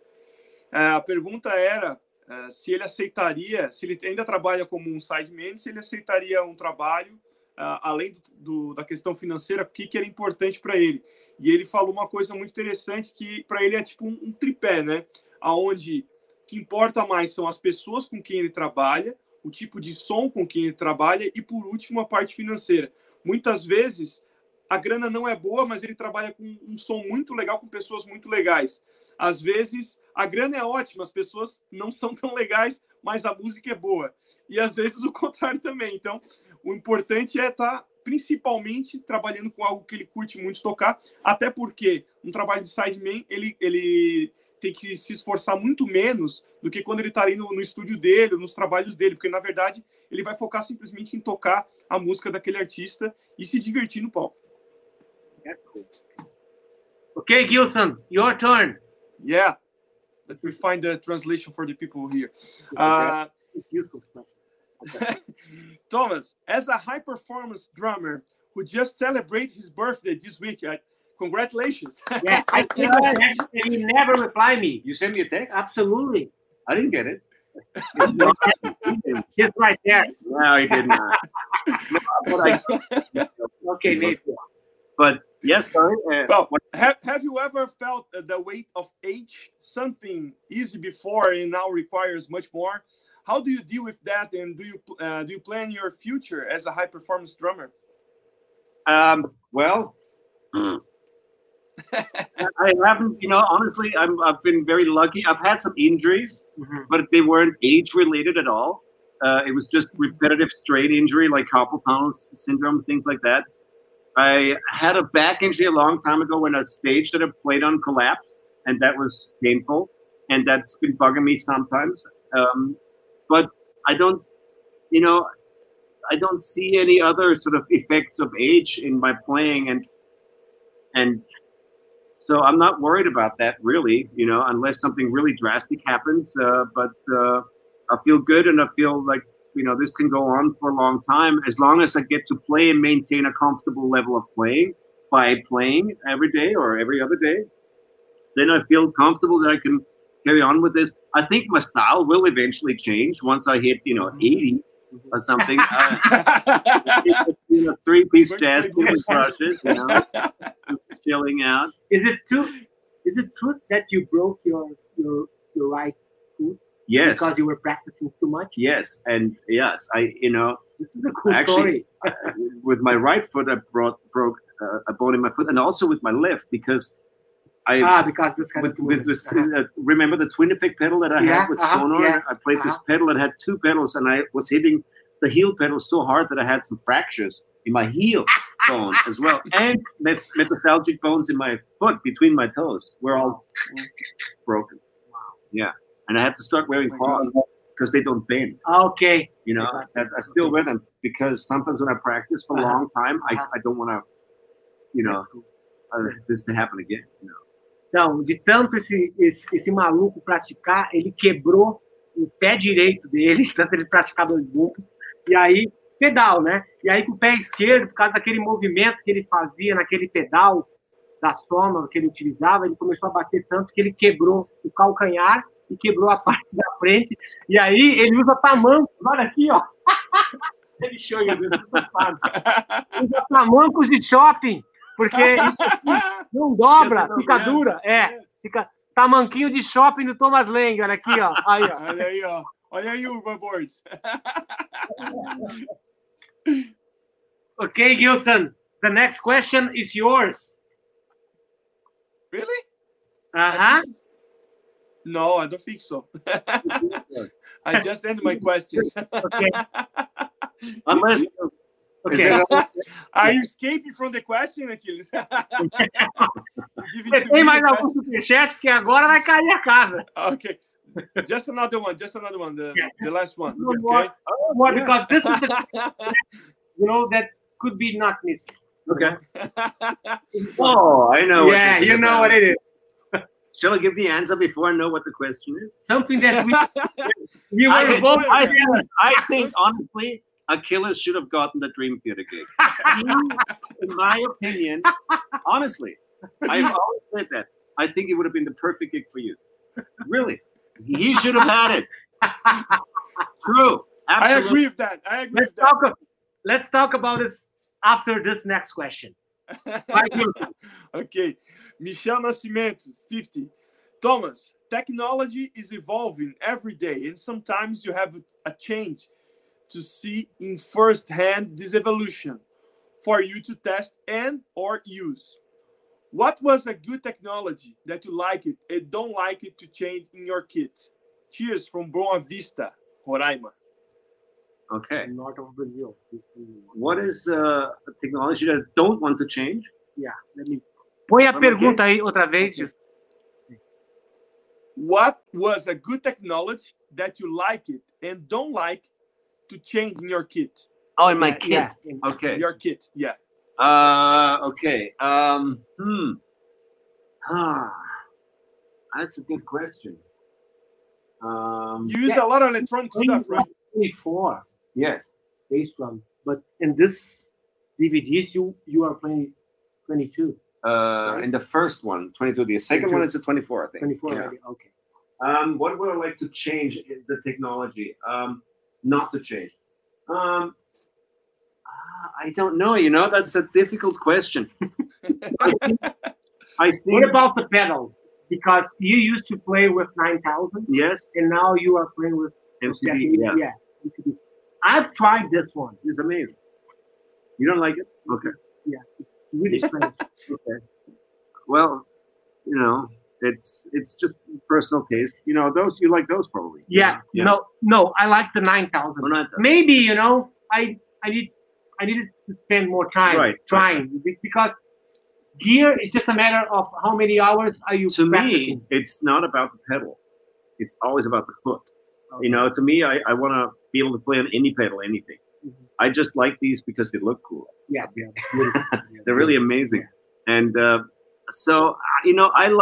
A pergunta era se ele aceitaria, se ele ainda trabalha como um sideman, se ele aceitaria um trabalho além da questão financeira, o que era importante para ele. E ele falou uma coisa muito interessante que para ele é tipo um tripé, né? Aonde o que importa mais são as pessoas com quem ele trabalha, o tipo de som com quem ele trabalha e, por último, a parte financeira. Muitas vezes, a grana não é boa, mas ele trabalha com um som muito legal, com pessoas muito legais. Às vezes, a grana é ótima, as pessoas não são tão legais, mas a música é boa. E, às vezes, o contrário também. Então, o importante é estar, principalmente, trabalhando com algo que ele curte muito tocar, até porque um trabalho de sideman, ele tem que se esforçar muito menos do que quando ele está ali no estúdio dele, nos trabalhos dele, porque, na verdade, ele vai focar simplesmente em tocar a música daquele artista e se divertir no palco. Okay, Gilson, your turn. Yeah, Let me find the translation for the people here. Thomas, as a high-performance drummer who just celebrated his birthday this week, congratulations. Yeah, I think that he never replied me. You sent me a text? Absolutely. I didn't get it. He's right there. No, he did not. Okay, maybe. But yes, sorry. Well, have you ever felt the weight of age? Something easy before and now requires much more. How do you deal with that? And do you plan your future as a high performance drummer? Well, I haven't. Honestly, I've been very lucky. I've had some injuries, but they weren't age related at all. It was just repetitive strain injury, like carpal tunnel syndrome, things like that. I had a back injury a long time ago when a stage that I played on collapsed, and that was painful, and that's been bugging me sometimes. But I don't see any other sort of effects of age in my playing, and so I'm not worried about that really, unless something really drastic happens. But I feel good, and I feel like this can go on for a long time as long as I get to play and maintain a comfortable level of playing by playing every day or every other day. Then I feel comfortable that I can carry on with this. I think my style will eventually change once I hit 80 or something. Three-piece jazz with brushes, chilling out. Is it true that you broke your right foot? Yes. Because you were practicing too much? Yes. And yes, this is a cool actually, story. With my right foot, I broke a bone in my foot, and also with my left because because this kind remember the twin effect pedal that I had with Sonor? Yeah, I played this pedal that had two pedals, and I was hitting the heel pedal so hard that I had some fractures in my heel bone as well, and metaphalgic bones in my foot between my toes were all broken. Wow. Yeah, and I had to start wearing clogs because they don't bend. Okay. I still wear them because sometimes when I practice for a long time, I don't want to, this to happen again. Então, de tanto esse maluco praticar, ele quebrou o pé direito dele, tanto ele praticar dois burros, e aí, pedal, né? E aí com o pé esquerdo, por causa daquele movimento que ele fazia naquele pedal da soma que ele utilizava, ele começou a bater tanto que ele quebrou o calcanhar e quebrou a parte da frente, e aí ele usa tamancos, olha aqui, ó. Ele chega, usa tamancos de shopping, porque não dobra, fica dura. Fica tamanquinho de shopping do Thomas Lang, olha aqui, ó. Aí, ó. Olha aí, ó. Olha aí, Urban Boards. Okay, Gilson, the next question is yours. Really? No, I don't think so. I just ended my questions. Okay. Unless... Okay. Are you escaping from the question, Achilles? Você tem mais algum superchat? Porque agora vai cair a casa. Okay. Just another one. The last one. Okay? More, because this is the that could be not missing. Okay. Oh, I know. Yeah, you know what it is. Shall I give the answer before I know what the question is? Something that we were both. I think honestly, Achilles should have gotten the Dream Theater gig. In my opinion, honestly, I've always said that. I think it would have been the perfect gig for you. Really. He should have had it. True. Absolutely. I agree with that. Let's talk about this after this next question. Okay. Michel Nascimento, 50. Thomas, technology is evolving every day, and sometimes you have a change to see in first hand this evolution for you to test and or use. What was a good technology that you like it and don't like it to change in your kit? Cheers from Boa Vista, Roraima. Okay. North of Brazil. What is a technology that I don't want to change? Yeah. Põe a pergunta aí outra vez. Okay. What was a good technology that you like it and don't like to change in your kit? Oh, in my kit. Yeah. Okay. Your kit, yeah. Okay. That's a good question. You use a lot of electronic stuff, right? 24. Yes. Bass drum. But in this DVDs, you are playing 22. Right? In the first one, 22. The second 22. One is a 24, I think. 24, yeah. Okay. What would I like to change in the technology? Not to change. I don't know. You know, that's a difficult question. I think. What about the pedals? Because you used to play with 9000. Yes. And now you are playing with MCD. Yeah. MCD. I've tried this one. It's amazing. You don't like it? Okay. Yeah. It's really strange. Okay. Well, you know, it's just personal taste. You know, those you like those probably. Yeah. No. I like the 9000. Oh, 9000. Maybe, you know, I needed to spend more time trying because gear is just a matter of how many hours are you practicing. Me, it's not about the pedal. It's always about the foot. Okay. You know, to me, I want to be able to play on any pedal, anything. Mm-hmm. I just like these because they look cool. Yeah. They're really amazing. And so, you know, I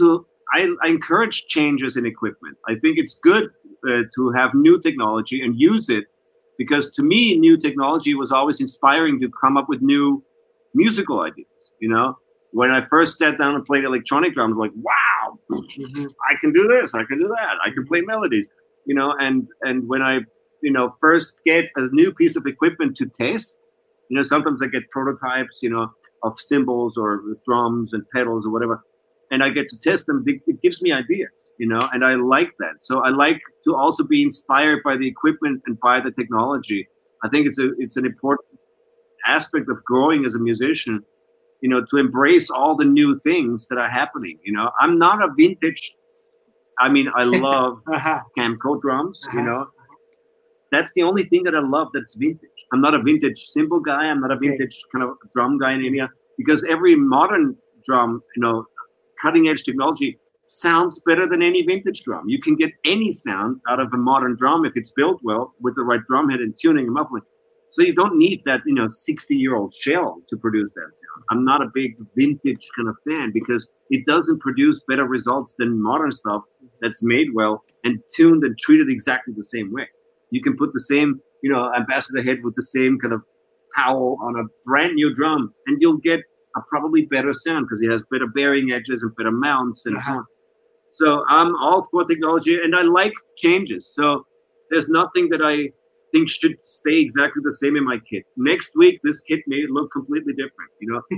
encourage changes in equipment. I think it's good to have new technology and use it because to me, new technology was always inspiring to come up with new musical ideas. You know, when I first sat down and played electronic drums, like, wow, I can do this, I can do that, I can play melodies, you know, and when I, you know, first get a new piece of equipment to test, you know, sometimes I get prototypes, you know, of cymbals or drums and pedals or whatever, and I get to test them, it gives me ideas, you know, and I like that. So I like to also be inspired by the equipment and by the technology. I think it's an important aspect of growing as a musician, you know, to embrace all the new things that are happening. You know, I'm not a vintage. I mean, I love Camco drums. You know, that's the only thing that I love that's vintage. I'm not a vintage cymbal guy. I'm not a vintage kind of drum guy in India because every modern drum, you know, cutting edge technology sounds better than any vintage drum. You can get any sound out of a modern drum if it's built well with the right drum head and tuning and muffling. So you don't need that, you know, 60-year-old shell to produce that sound. I'm not a big vintage kind of fan because it doesn't produce better results than modern stuff that's made well and tuned and treated exactly the same way. You can put the same, you know, ambassador head with the same kind of towel on a brand new drum and you'll get a probably better sound because it has better bearing edges and better mounts and so on. So I'm all for technology and I like changes. So there's nothing that I think should stay exactly the same in my kit. Next week, this kit may look completely different. You know,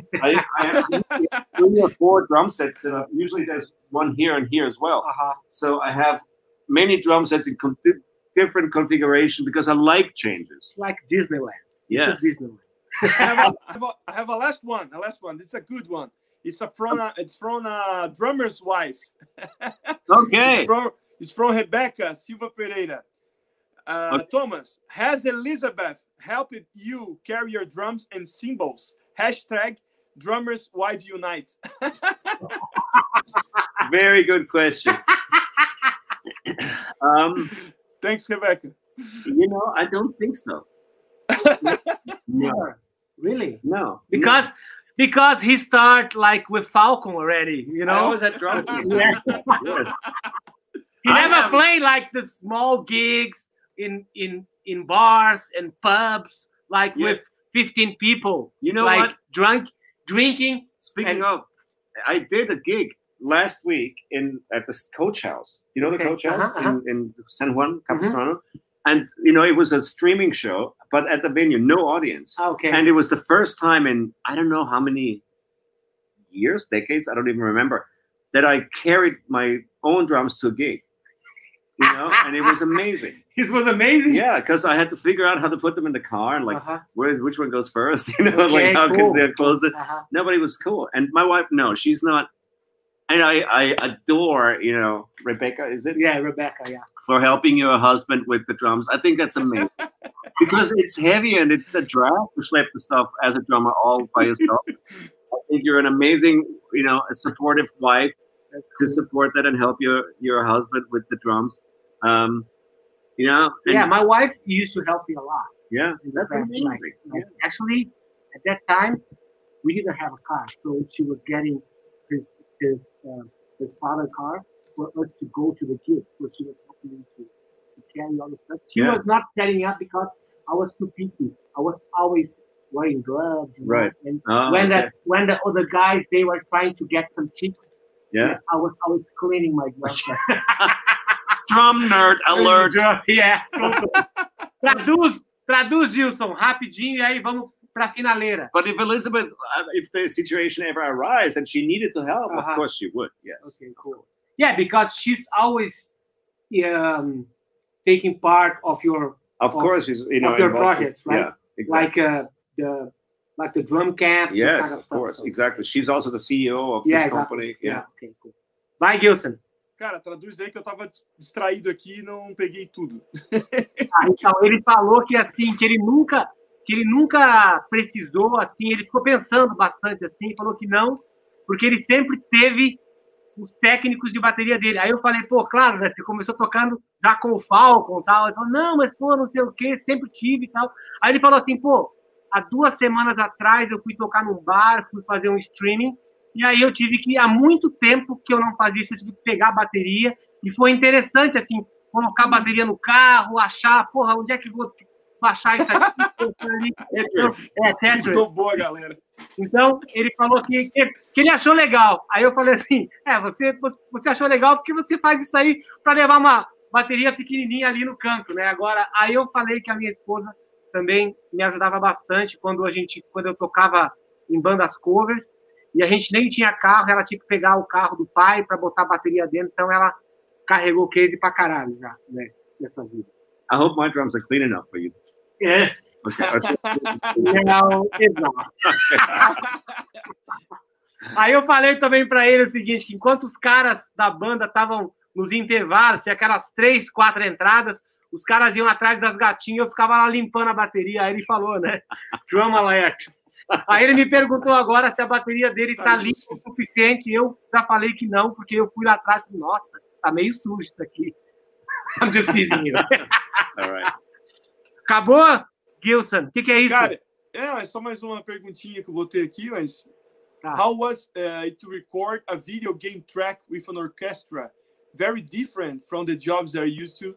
I have 3 or 4 drum sets set up. Usually there's one here and here as well. So I have many drum sets in different configuration because I like changes. Like Disneyland. Yes. Disneyland. I have a last one. It's a good one. It's from a drummer's wife. Okay. It's from Rebecca Silva Pereira. Thomas, has Elizabeth helped you carry your drums and cymbals? # drummers wife unite. Very good question. Thanks, Rebecca. You know, I don't think so. No. Really? No. Because he started like with Falcon already, you know? I always had drum. Yeah. He never played like the small gigs in bars and pubs, like with 15 people. You know, like what? Drinking. Speaking of, I did a gig last week at the Coach House. You know the Coach House in San Juan, Capistrano? And, you know, it was a streaming show, but at the venue, no audience. Okay. And it was the first time in, I don't know how many years, decades, I don't even remember, that I carried my own drums to a gig. You know, and it was amazing. It was amazing? Yeah, because I had to figure out how to put them in the car and like, which one goes first? You know, like how can they close it? Nobody was cool. And my wife, no, she's not. And I adore, you know, Rebecca, is it? Yeah, Rebecca, yeah. For helping your husband with the drums. I think that's amazing. Because it's heavy and it's a drag to schlep the stuff as a drummer all by yourself. I think you're an amazing, you know, a supportive wife to support that and help your husband with the drums. You know? Yeah, my wife used to help me a lot. Yeah, that's amazing. Like, actually, at that time, we didn't have a car. So she was getting his father's car for us to go to the gig. So she was helping me to carry all the stuff. She was not setting up because I was too picky. I was always wearing gloves. Right. And when the other guys, they were trying to get some chicks, I was always cleaning my gloves. Drum nerd alert. Yeah. Traduz, Gilson, rapidinho, e aí vamos para a finaleira. But if Elizabeth, if the situation ever arises and she needed to help, of course she would, yes. Okay, cool. Yeah, because she's always taking part of your... Of course, she's, you know, of your projects, right? Yeah, exactly. Like the drum camp. Yes, kind of course, exactly. She's also the CEO of this company. Yeah. Okay, cool. Vai, Gilson. Cara, traduz aí que eu tava distraído aqui e não peguei tudo. Então, ele falou que assim, que ele nunca precisou, assim, ele ficou pensando bastante assim, falou que não, porque ele sempre teve os técnicos de bateria dele. Aí eu falei, pô, claro, né, você começou tocando já com o Falcon e tal. Ele falou, não, mas pô, não sei o quê, sempre tive e tal. Aí ele falou assim, pô, há 2 semanas atrás eu fui tocar num bar, fui fazer um streaming, e aí eu tive que, há muito tempo que eu não fazia isso, eu tive que pegar a bateria, e foi interessante, assim, colocar a bateria no carro, achar, porra, onde é que eu vou baixar isso aqui? Tetris. Ficou boa, galera. Então, ele falou que ele achou legal. Aí eu falei assim, você achou legal porque você faz isso aí para levar uma bateria pequenininha ali no canto, né? Agora, aí eu falei que a minha esposa também me ajudava bastante quando eu tocava em bandas covers, e a gente nem tinha carro, ela tinha que pegar o carro do pai para botar a bateria dentro, então ela carregou case pra caralho já, né, nessa vida. I hope my drums are clean enough for you. Yes. Okay. Não, exato. Aí eu falei também para ele o seguinte, que enquanto os caras da banda estavam nos intervalos, aquelas 3, 4 entradas, os caras iam atrás das gatinhas, eu ficava lá limpando a bateria. Aí ele falou, né? Drum alert. Aí ele me perguntou agora se a bateria dele tá limpa o suficiente. Eu já falei que não, porque eu fui lá atrás e nossa, tá meio sujo isso aqui. I'm just teasing you. All right. Acabou, Gilson? O que é isso? Cara, é só mais uma perguntinha que eu botei aqui, mas... How was it to record a video game track with an orchestra? Very different from the jobs they're used to?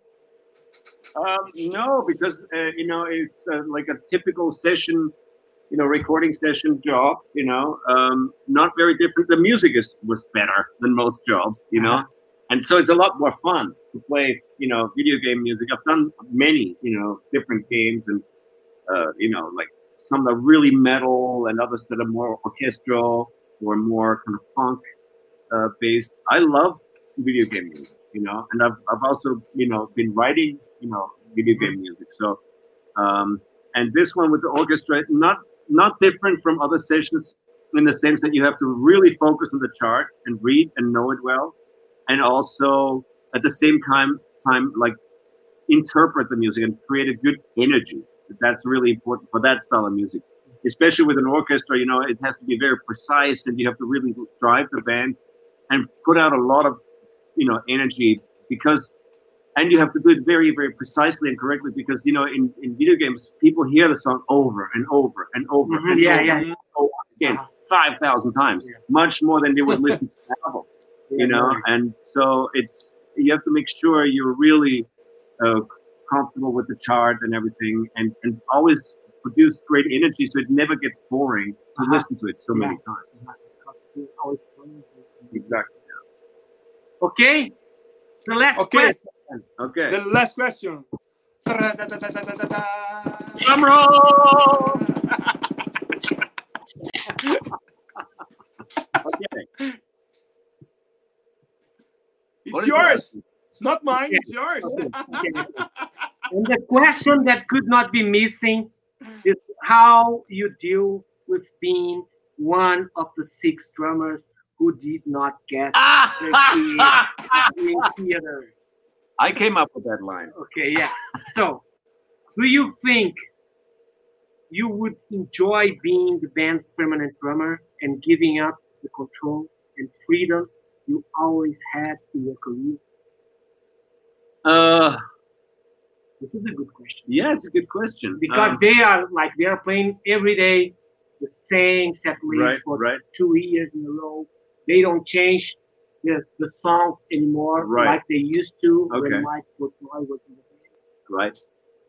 No, because, you know, it's like a typical session, you know, recording session job, you know, not very different. The music was better than most jobs, you know, and so it's a lot more fun to play, you know, video game music. I've done many, you know, different games and, you know, like some that are really metal and others that are more orchestral or more kind of funk based. I love video game music, you know, and I've also, you know, been writing, you know, video game music. So, and this one with the orchestra, not different from other sessions in the sense that you have to really focus on the chart and read and know it well, and also at the same time like interpret the music and create a good energy. That's really important for that style of music, especially with an orchestra. You know, it has to be very precise, and you have to really drive the band and put out a lot of, you know, energy, because, and you have to do it very, very precisely and correctly, because, you know, in video games, people hear the song over and over and over and over again, 5,000 times, much more than they would listen to the album, you know, and so you have to make sure you're really comfortable with the chart and everything, and always produce great energy so it never gets boring to listen to it so many times. Exactly. Okay? The last question. Okay. The last question. Drum roll! Okay. It's yours. It's not mine. It's yours. And the question that could not be missing is how you deal with being one of the 6 drummers who did not get the theater. I came up with that line. Okay, yeah. So, do you think you would enjoy being the band's permanent drummer and giving up the control and freedom you always had in your career? This is a good question. Yeah, it's a good question. Because they are playing every day the same set list for 2 years in a row. They don't change the songs anymore like they used to when Mike Portnoy was in the band.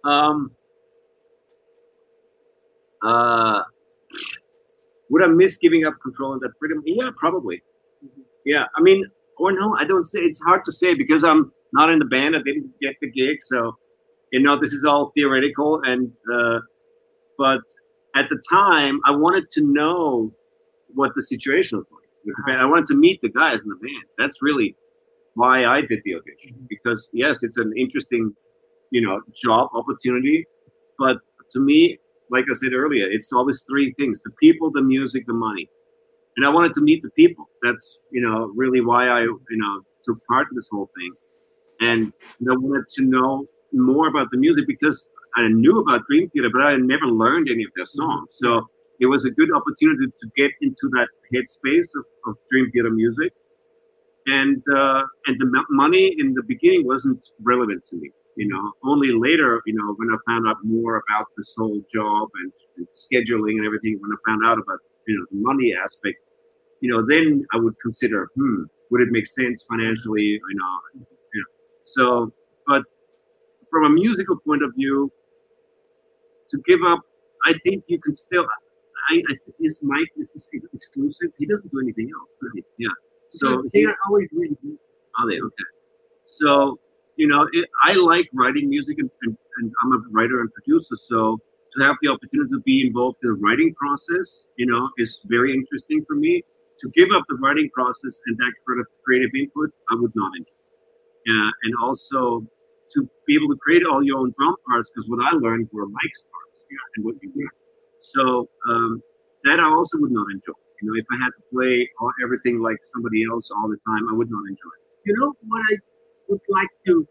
Right. Would I miss giving up control and that freedom? Yeah, probably. Yeah, I mean, or no, I don't say. It's hard to say because I'm not in the band. I didn't get the gig, so this is all theoretical. And but at the time, I wanted to know what the situation was like with the band. I wanted to meet the guys in the band. That's really why I did the audition. Because yes, it's an interesting, job opportunity, but to me, like I said earlier, it's always three things: the people, the music, the money. And I wanted to meet the people. That's, really why I, took part in this whole thing. And I wanted to know more about the music because I knew about Dream Theater, but I had never learned any of their songs. So it was a good opportunity to get into that headspace of Dream Theater music. And the money in the beginning wasn't relevant to me. Only later, when I found out more about this whole job and scheduling and everything, when I found out about, the money aspect, then I would consider, would it make sense financially? So, but from a musical point of view, to give up, I think you can still. Is Mike exclusive? He doesn't do anything else, does he? Yeah. So they are always really good. Are they? Okay. So I like writing music, and I'm a writer and producer. So to have the opportunity to be involved in the writing process, is very interesting for me. To give up the writing process and that creative input, I would not enjoy. And also to be able to create all your own drum parts, because what I learned were Mike's parts, and what you learned. So that I also would not enjoy. If I had to play everything like somebody else all the time, I would not enjoy it. What I would like to.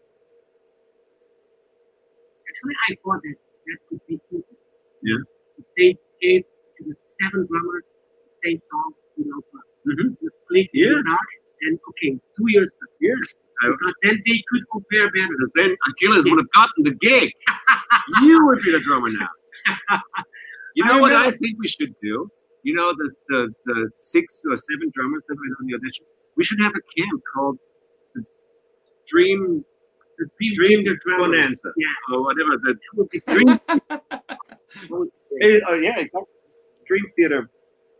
Actually, I thought that could be cool. Yeah. If they gave to the 7 drummers the same song, the split and 2 years. Yes. Because then they could compare better. Because then Achilles would have gotten the gig. You would be the drummer now. You know what I think we should do? The 6 or 7 drummers that went on the audition. We should have a camp called the Dream Bonanza, or whatever. The Dream. Exactly. Dream Theater,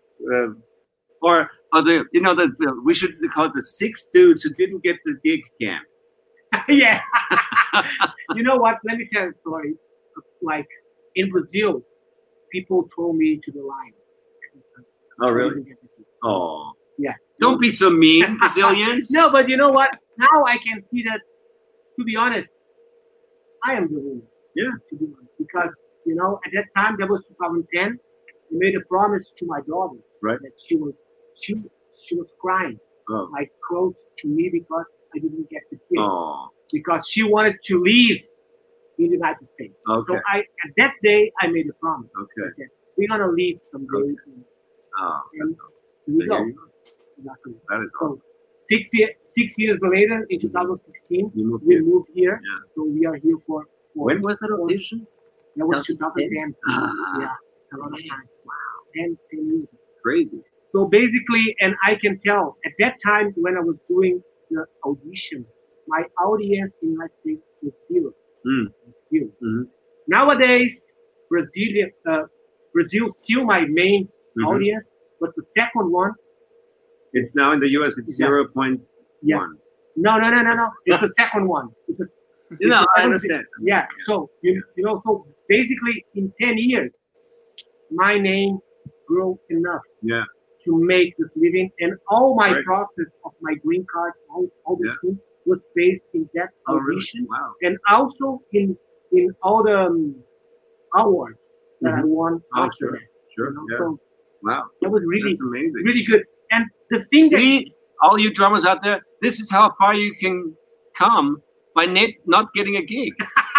or we should call it the 6 dudes who didn't get the gig camp. Yeah. You know what? Let me tell you a story. Like in Brazil, people throw me to the line. Oh, really? Oh. Yeah. Don't be so mean, Brazilians. No, but you know what? Now I can see that, to be honest, I am the winner. Yeah. To be honest. Because, at that time, that was 2010, I made a promise to my daughter. Right. That she was crying. Oh. Like close to me because I didn't get the kid. Oh. Because she wanted to leave in the United States. Okay. So at that day, I made a promise. Okay. That we're going to leave someday. Okay. Oh, that's awesome. Here we go. Exactly. That is awesome. So 6 years later, in 2016, we moved here. Yeah. So we are here for when was that audition? That was 2010. Yeah. A lot of time. Wow. 10 years. Crazy. So basically, and I can tell, at that time when I was doing the audition, my audience in the United States was zero. Zero. Mm-hmm. Nowadays, Brazil still my main audience, but the second one. It's now in the US, it's 0.1. Yeah. No. It's the second one. I understand. Yeah. So, so basically in 10 years, my name grew enough to make this living. And all my process of my green card, all this thing was based in that audition. Really? Wow. And also in all the awards that I won after that. Sure. Yeah. So wow. That was really, that's amazing. Really good. And the thing all you drummers out there, this is how far you can come by not getting a gig.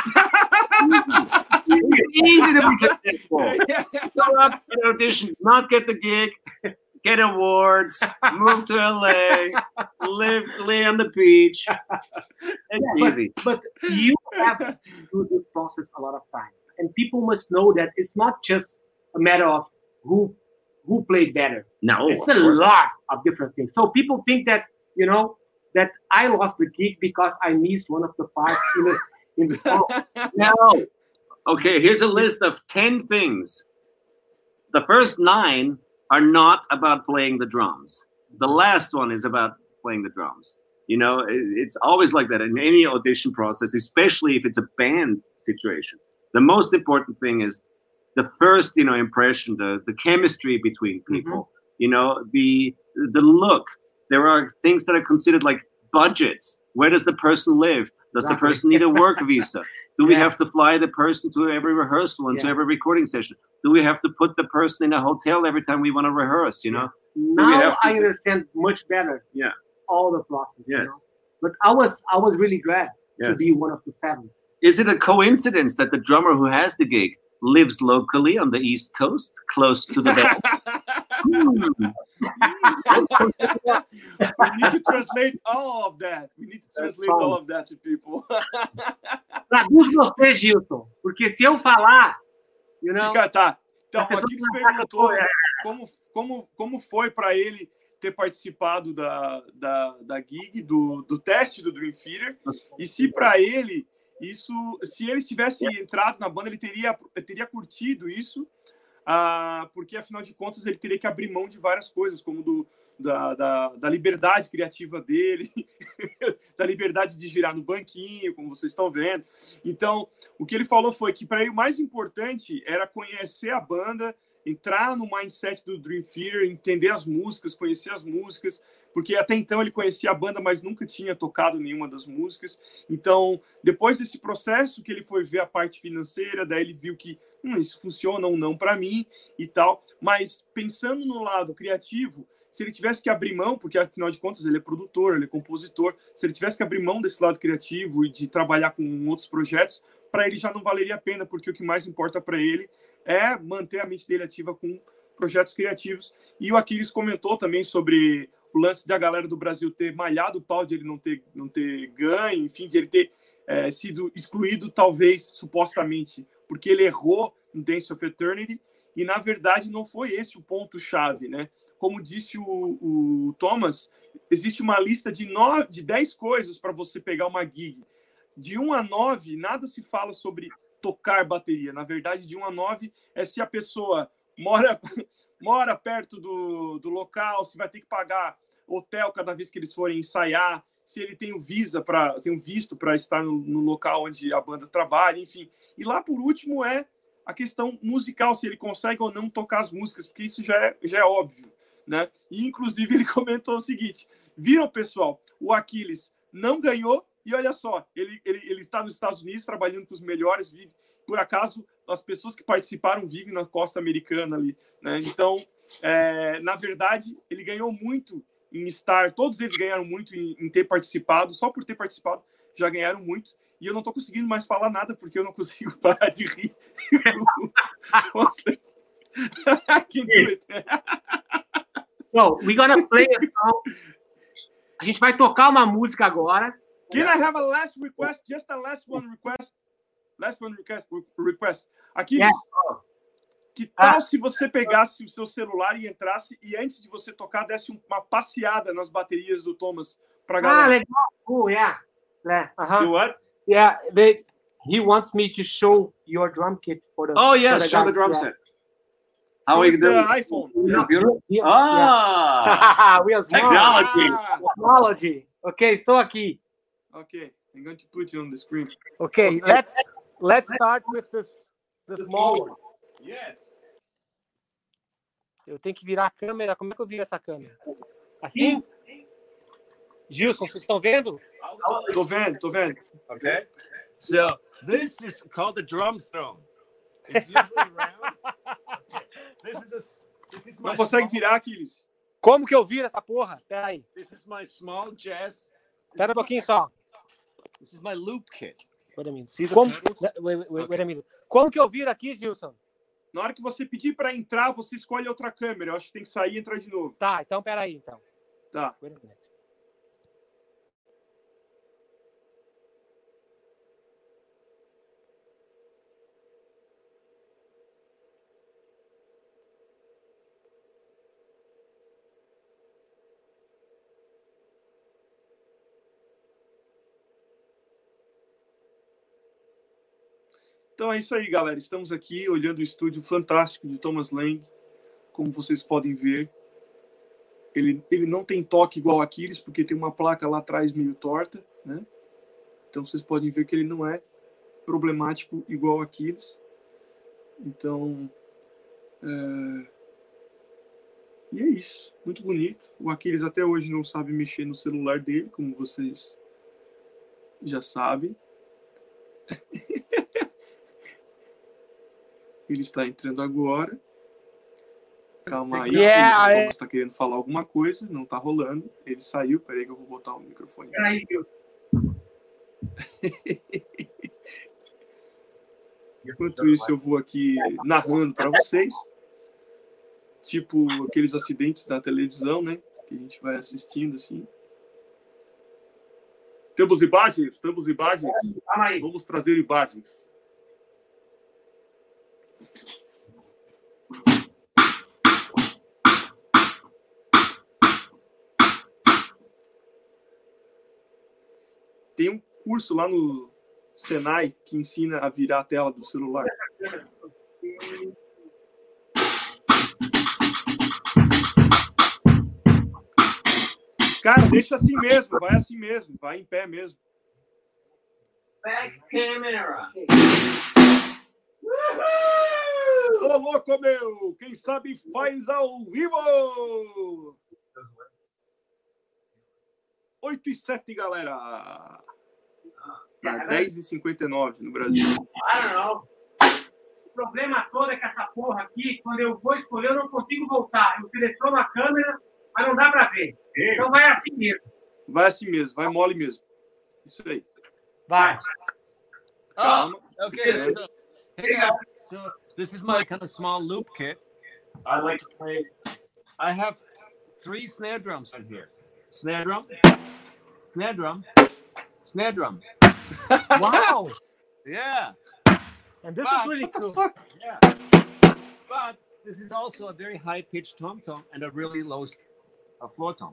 It's easy to be successful. Go up to the audition, not get the gig, get awards, move to LA, lay on the beach. It's easy. But you have to do this process a lot of times. And people must know that it's not just a matter of who played better. No, it's a lot of different things. So people think that you know, that I lost the gig because I missed one of the parts in the song. No. Okay, here's a list of 10 things. The first 9 are not about playing the drums. The last one is about playing the drums. You know, it's always like that in any audition process, especially if it's a band situation. The most important thing is the first, you know, impression, the chemistry between people, you know, the look. There are things that are considered like budgets. Where does the person live? Does the person need a work visa? Do we have to fly the person to every rehearsal and to every recording session? Do we have to put the person in a hotel every time we want to rehearse, you know? Now I understand much better all the process, you know? But I was really glad to be one of the 7. Is it a coincidence that the drummer who has the gig lives locally on the East Coast, close to the band? We need to translate all of that. We need to translate all of that to people. Traduz você, Gilson, porque se eu falar, you know, tá. Então, aqui eles perguntou como foi para ele ter participado da gig, do teste do Dream Theater, e se para ele isso, se ele tivesse entrado na banda, ele teria curtido isso, porque afinal de contas ele teria que abrir mão de várias coisas, como da liberdade criativa dele, da liberdade de girar no banquinho, como vocês estão vendo. Então, o que ele falou foi que para ele o mais importante era conhecer a banda, entrar no mindset do Dream Theater, entender as músicas, conhecer as músicas, porque até então ele conhecia a banda, mas nunca tinha tocado nenhuma das músicas. Então, depois desse processo que ele foi ver a parte financeira, daí ele viu que isso funciona ou não para mim e tal. Mas pensando no lado criativo, se ele tivesse que abrir mão, porque afinal de contas ele é produtor, ele é compositor, se ele tivesse que abrir mão desse lado criativo e de trabalhar com outros projetos, para ele já não valeria a pena, porque o que mais importa para ele é manter a mente dele ativa com projetos criativos. E o Aquiles comentou também sobre o lance da galera do Brasil ter malhado o pau, de ele não ter ganho, enfim, de ele ter sido excluído, talvez, supostamente, porque ele errou no Dance of Eternity, e, na verdade, não foi esse o ponto-chave, né? Como disse o Thomas, existe uma lista de 10 coisas para você pegar uma gig. De 1 a 9, nada se fala sobre tocar bateria. Na verdade, de 1 a 9 é se a pessoa mora perto do local, se vai ter que pagar hotel cada vez que eles forem ensaiar, se ele tem o visto para estar no local onde a banda trabalha, enfim. E lá, por último, é a questão musical, se ele consegue ou não tocar as músicas, porque isso já é óbvio, né? E, inclusive, ele comentou o seguinte: viram, pessoal, o Aquiles não ganhou, e olha só, ele está nos Estados Unidos trabalhando com os melhores, vive, por acaso, as pessoas que participaram vivem na costa americana ali, né? Então, na verdade, ele ganhou muito em estar, todos eles ganharam muito em ter participado, só por ter participado já ganharam muito, e eu não estou conseguindo mais falar nada porque eu não consigo parar de rir. So, we're gonna play a song. A gente vai tocar uma música agora. Can I have a last request? Just a last one request. Last one request. Aqui, que tal se você pegasse o seu celular e entrasse e antes de você tocar desse uma passeada nas baterias do Thomas para galera? Legal. Oh, yeah. Do what? Yeah, he wants me to show your drum kit for the. Oh yes, show the drum set. How are you doing? The iPhone. We are technology. Okay, estou aqui. Okay, I'm going to put you on the screen. Okay, let's start with the small one. Yes. Eu tenho que virar a câmera. Como é que eu viro essa câmera? Assim? Gilson, vocês estão vendo? Tô vendo. Okay. So this is called the drum throne. It's usually round. This is my. Não consegue virar, Aquiles? Como que eu viro essa porra? Pera aí. This is my small jazz. Pera um pouquinho só. This is my loop kit. Wait a minute. Wait a minute. Como que eu viro aqui, Gilson? Na hora que você pedir para entrar, você escolhe outra câmera. Eu acho que tem que sair e entrar de novo. Tá, então pera aí, então. Tá. Wait a minute. Então é isso aí, galera. Estamos aqui olhando o estúdio fantástico de Thomas Lang. Como vocês podem ver, ele não tem toque igual a Aquiles, porque tem uma placa lá atrás meio torta, né? Então vocês podem ver que ele não é problemático igual a Aquiles. Então, e é isso. Muito bonito. O Aquiles até hoje não sabe mexer no celular dele, como vocês já sabem. Ele está entrando agora. Calma aí. O Thomas está querendo falar alguma coisa. Não está rolando. Ele saiu. Peraí que eu vou botar o microfone. Enquanto isso, eu vou aqui narrando para vocês. Tipo aqueles acidentes da televisão, né? Que a gente vai assistindo assim. Temos imagens? Temos imagens? Vamos trazer imagens. Tem um curso lá no Senai que ensina a virar a tela do celular. Cara, deixa assim mesmo, vai assim mesmo, vai em pé mesmo. Back camera. Ô, louco, meu! Quem sabe faz ao vivo! 8h07, galera! Tá 10h59 no Brasil. O problema todo é que essa porra aqui, quando eu vou escolher, eu não consigo voltar. Eu seleciono a câmera, mas não dá pra ver. Então vai assim mesmo. Vai assim mesmo, vai mole mesmo. Isso aí. Vai. Calma. Okay. Hey guys, so this is my kind of small loop kit. I like to play. I have 3 snare drums on here. Snare drum, snare drum, snare drum. Wow! Yeah. And this is really cool. Yeah. But this is also a very high-pitched tom-tom and a really low floor tom.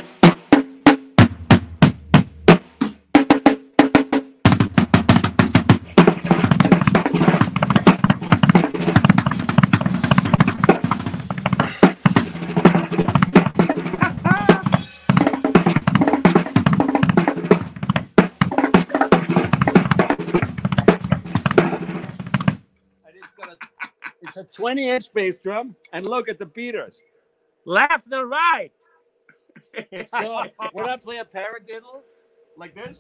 It's a 20-inch bass drum, and look at the beaters, left and right. So when I play a paradiddle like this,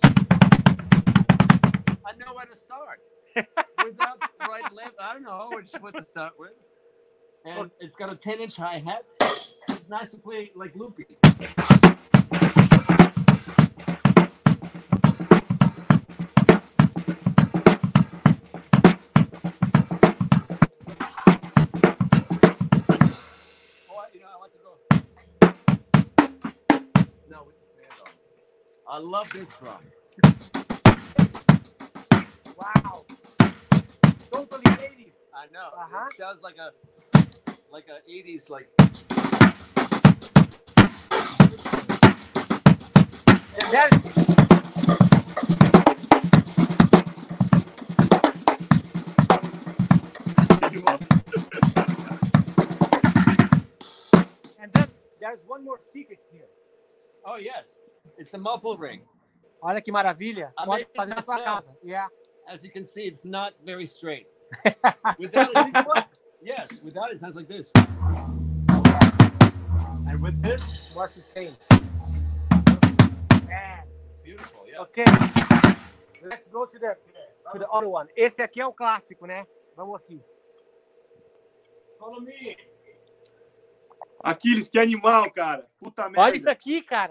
I know where to start. Without right, left, I don't know what to start with. And it's got a 10-inch hi-hat. It's nice to play like loopy. I love this drum. Wow. Totally 80s. I know. It sounds like a 80s like. And then there's one more secret here. Oh yes. It's a muffle ring. Olha que maravilha. Pode fazer na sua casa. Yeah. As you can see, it's not very straight. Without it, yes, without it sounds like this. And with this, more sustain. It's beautiful, yeah. Okay. Let's go to the other one. Esse aqui é o clássico, né? Vamos aqui. Follow me. Aquiles, que animal, cara. Puta merda. Olha isso aqui, cara.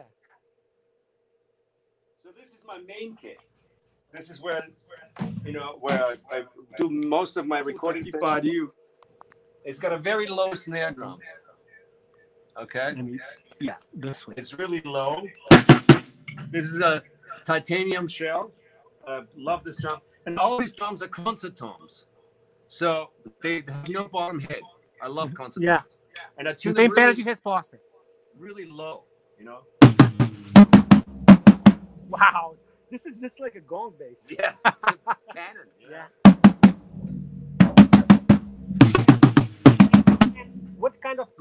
So this is my main kit. This is where I do most of my recording. Que pariu. It's got a very low snare drum. Okay. Yeah, this way. It's really low. This is a titanium shell. Love this drum. And all these drums are concert toms. So they have no bottom head. I love concert toms. Yeah. And I tune Não tem them pedra de resposta. really low, you know? Wow. This is just like a gong bass. Yeah, it's a cannon. Yeah.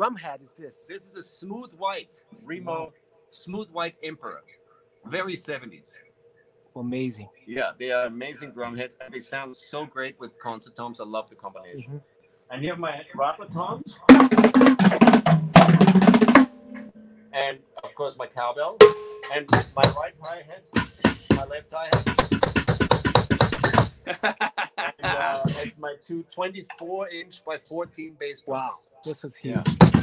drum head is this? This is a smooth white Remo, smooth white Emperor, very 70s. Amazing. Yeah, they are amazing drum heads, and they sound so great with concert toms. I love the combination. And here are my Rattler toms, and of course my cowbell, and my right hi-hat, my left hi-hat, and my two 24-inch by 14 bass drums. Wow, this is huge.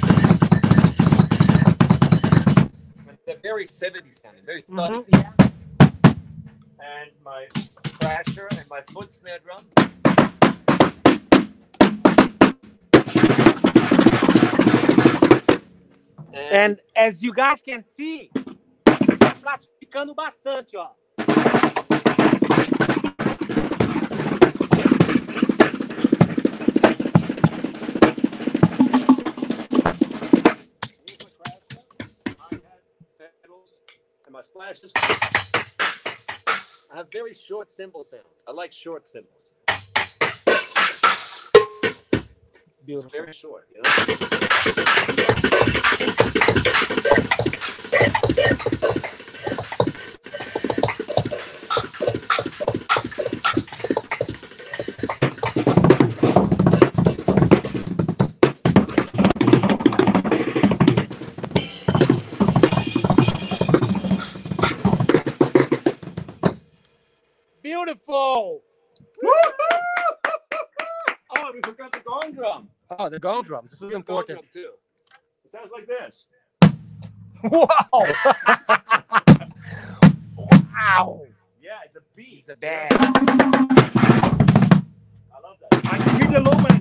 They're very 70s sounding, very studied. Yeah. And my crasher and my foot snare drum. And as you guys can see, tá praticando bastante, ó. And my splashes. I have very short cymbal sounds. I like short cymbals. Beautiful. It's very short, you Beautiful. Oh, we forgot the gong drum. Oh, the gong drum. This is important. Gong drum too. It sounds like this. Wow. Wow. Yeah, it's a beat. It's a band. I love that. I can hear the low end.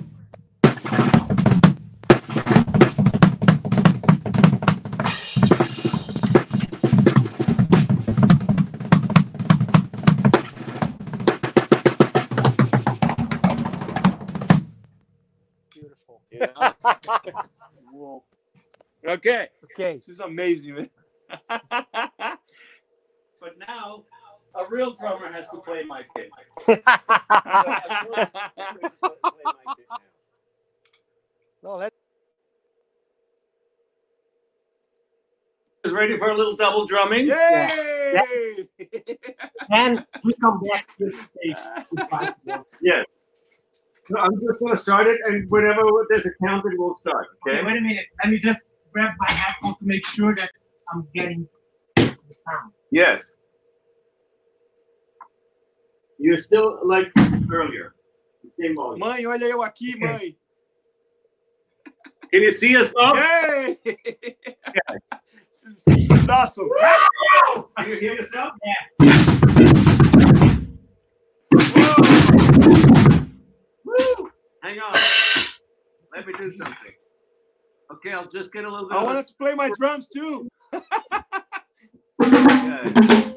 Beautiful. Yeah. Whoa. Okay. Okay. This is amazing, man. But now, a real drummer has to play my kit. No, let's. Is ready for a little double drumming? Yay! And we come back to this stage. Yes. So I'm just going to start it, and whenever there's a count, it will start. Okay, wait a minute. Let me just grab my headphones to make sure that I'm getting the sound. Yes. You're still like earlier. Same volume. Mãe, olha eu aqui, mãe. Can you see us, Bob? Yay! This is awesome. Can you hear yourself? Yeah. Woo! Hang on. Let me do something. Okay, I'll just get a little bit. I want to play my drums too. Okay.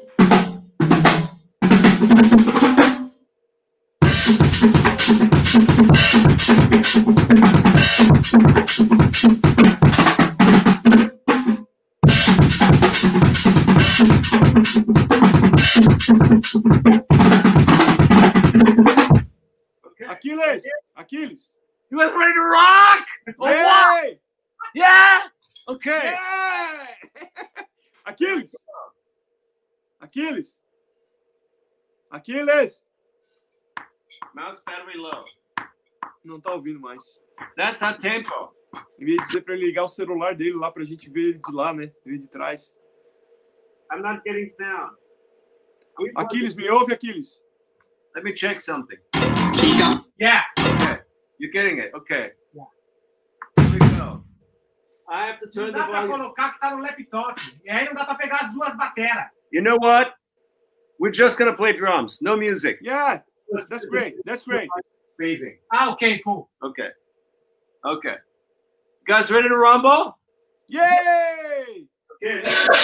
Achilles. You guys ready to rock? Oh, wow. Yeah. Okay. Yeah. Achilles. Achilles. Achilles. Mouse battery low. Não tá ouvindo mais. That's our tempo. Eu ia dizer pra ele ligar o celular dele lá pra gente ver ele de lá, né? Ver de trás. I'm not getting sound. Achilles, me ouve, Achilles? Let me check something. Yeah. Okay. You're getting it. Okay. Yeah. Here we go. I have to turn the Não dá pra volume. colocar que tá no laptop. E aí não dá pra pegar as duas bateras. You know what? We're just gonna play drums. No music. Yeah. That's great. That's great. Amazing. Ah, okay, cool. Okay. Okay. You guys ready to rumble? Yay! Okay.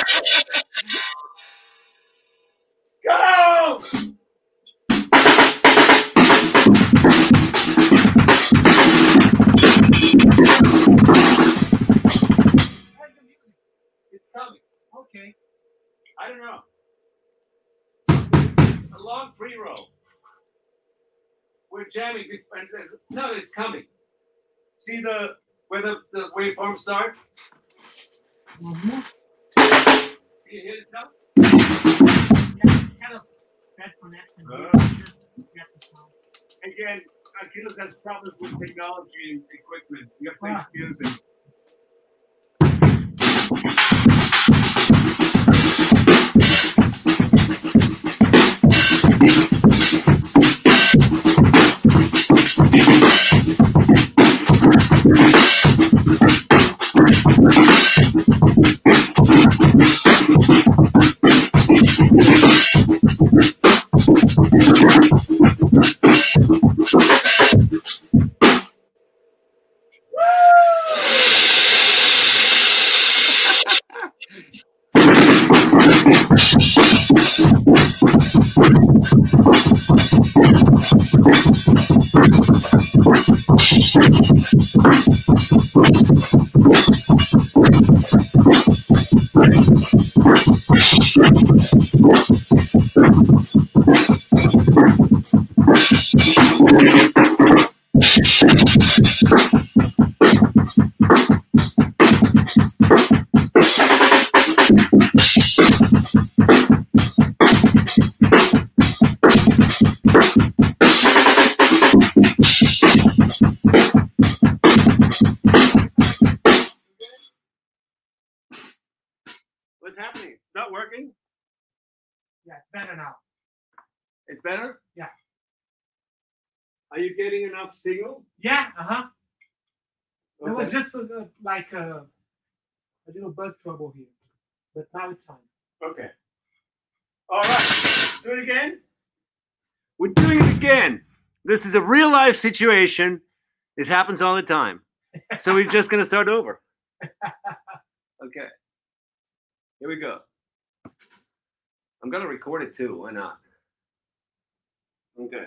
Go! It's coming. Okay. I don't know. It's a long pre-roll. We're jamming. No, it's coming. See the where the waveform starts? Mm-hmm. Can you hear it now? Yeah, kind of bad connection. Again, Achilles has problems with technology and equipment. You have to excuse him. What's happening? It's not working? Yeah, it's better now. It's better? Yeah. Are you getting enough signal? Yeah, Okay. It was just like a little bug trouble here, but now it's fine. Okay. All right. Do it again. We're doing it again. This is a real life situation. This happens all the time. So we're just going to start over. Okay. Here we go. I'm going to record it too. Why not? Okay.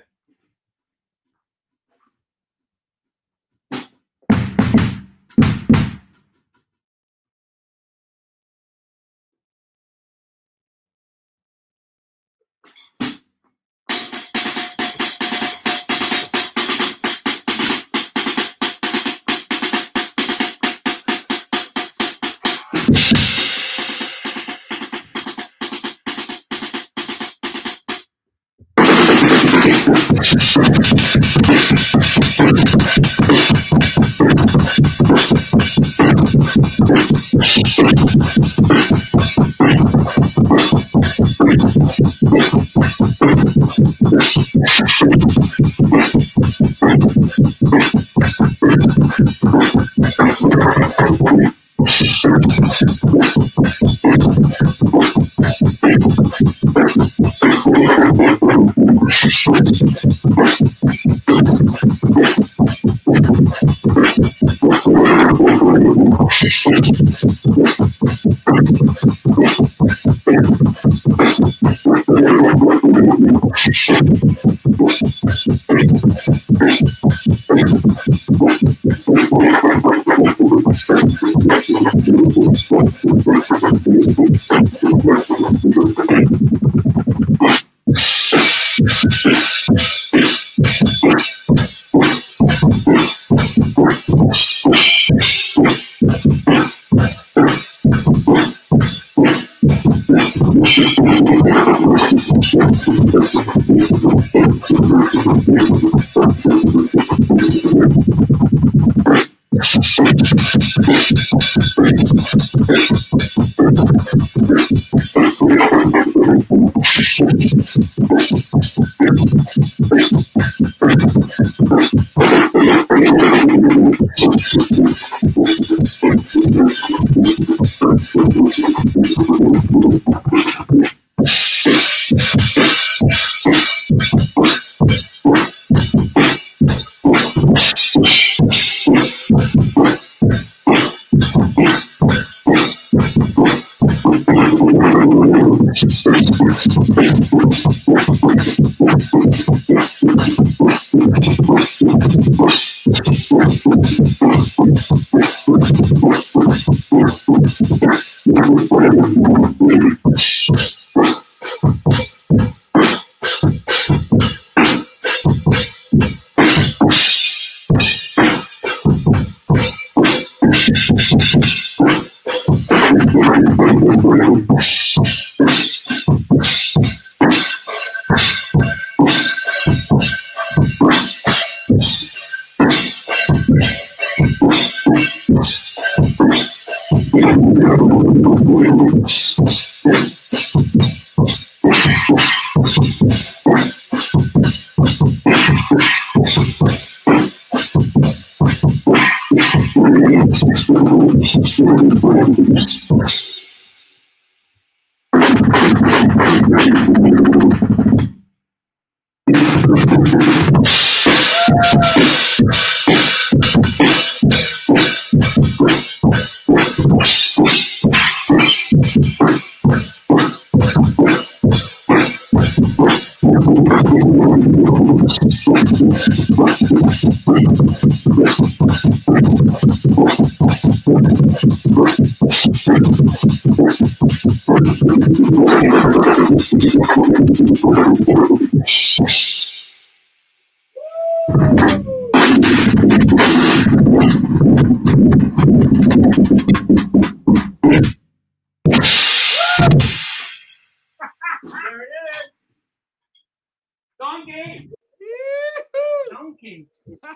Donkey.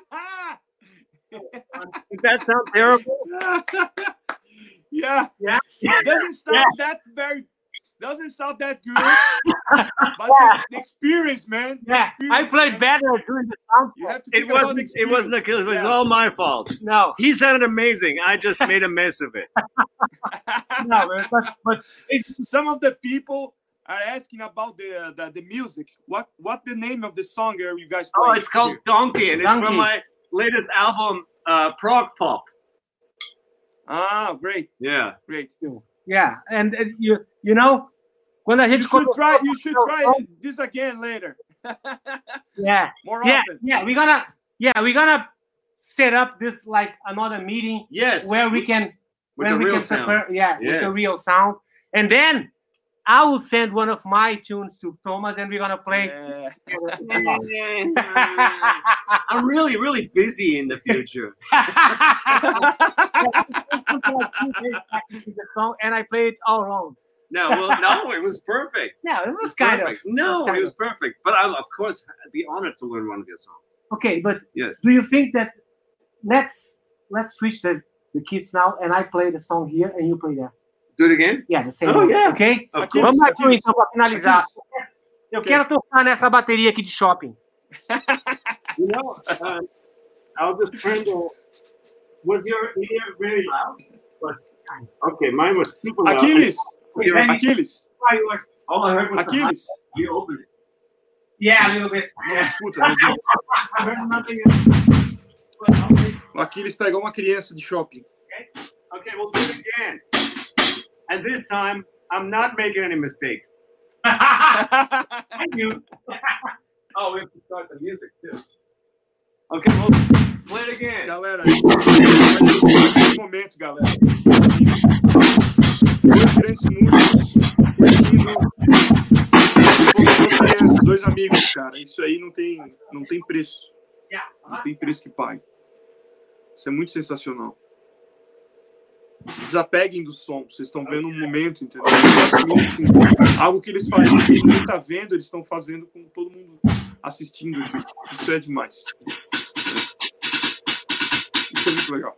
Does that sound terrible? Yeah. Doesn't sound that good. But the experience, man. Yeah, I played better during the sound. You have to It wasn't Achilles. It was all my fault. No. He sounded amazing. I just made a mess of it. No, but some of the people are asking about the music. What the name of the song are you guys playing? Oh, it's called Donkey, and it's from my latest album, Prog Pop. Ah, great. Yeah. Great. Yeah, and you know, when I hit you should try this again later. Yeah. More often. Yeah, we're gonna set up this like another meeting. Yes. Where we can with the real sound. With the real sound. And then I will send one of my tunes to Thomas and we're gonna play. I'm really, really busy in the future. And I played it all wrong. No, it was perfect. Yeah, it was kind of. No, it was perfect. But I'll, of course, be honored to learn one of your songs. Okay, but yes. Do you think that let's switch the kids now and I play the song here and you play there? Do it again? Yeah, the same. Oh, yeah. Ok? Aqui, vamos aqui então para finalizar. Eu quero tocar nessa bateria aqui de shopping. You know, I'll just turn the. Was your ear very loud? Okay, mine was super loud. Achilles. All I heard was Achilles. You opened it. Yeah, a little bit. Não escuta, mas... I heard nothing. O Achilles tá igual uma criança de shopping. Okay, we'll do it again. And this time, I'm not making any mistakes. Thank you. Oh, we have to start the music too. Okay, we'll play it again. Galera, nesse momento, galera. Dois grandes músicos curtindo dois amigos, cara. Isso aí não tem preço. Não tem preço que pague. Isso é muito sensacional. Desapeguem do som. Vocês estão vendo um momento, entendeu? Algo que eles fazem, que ninguém está vendo, eles estão fazendo com todo mundo assistindo. Isso é demais. Isso é muito legal.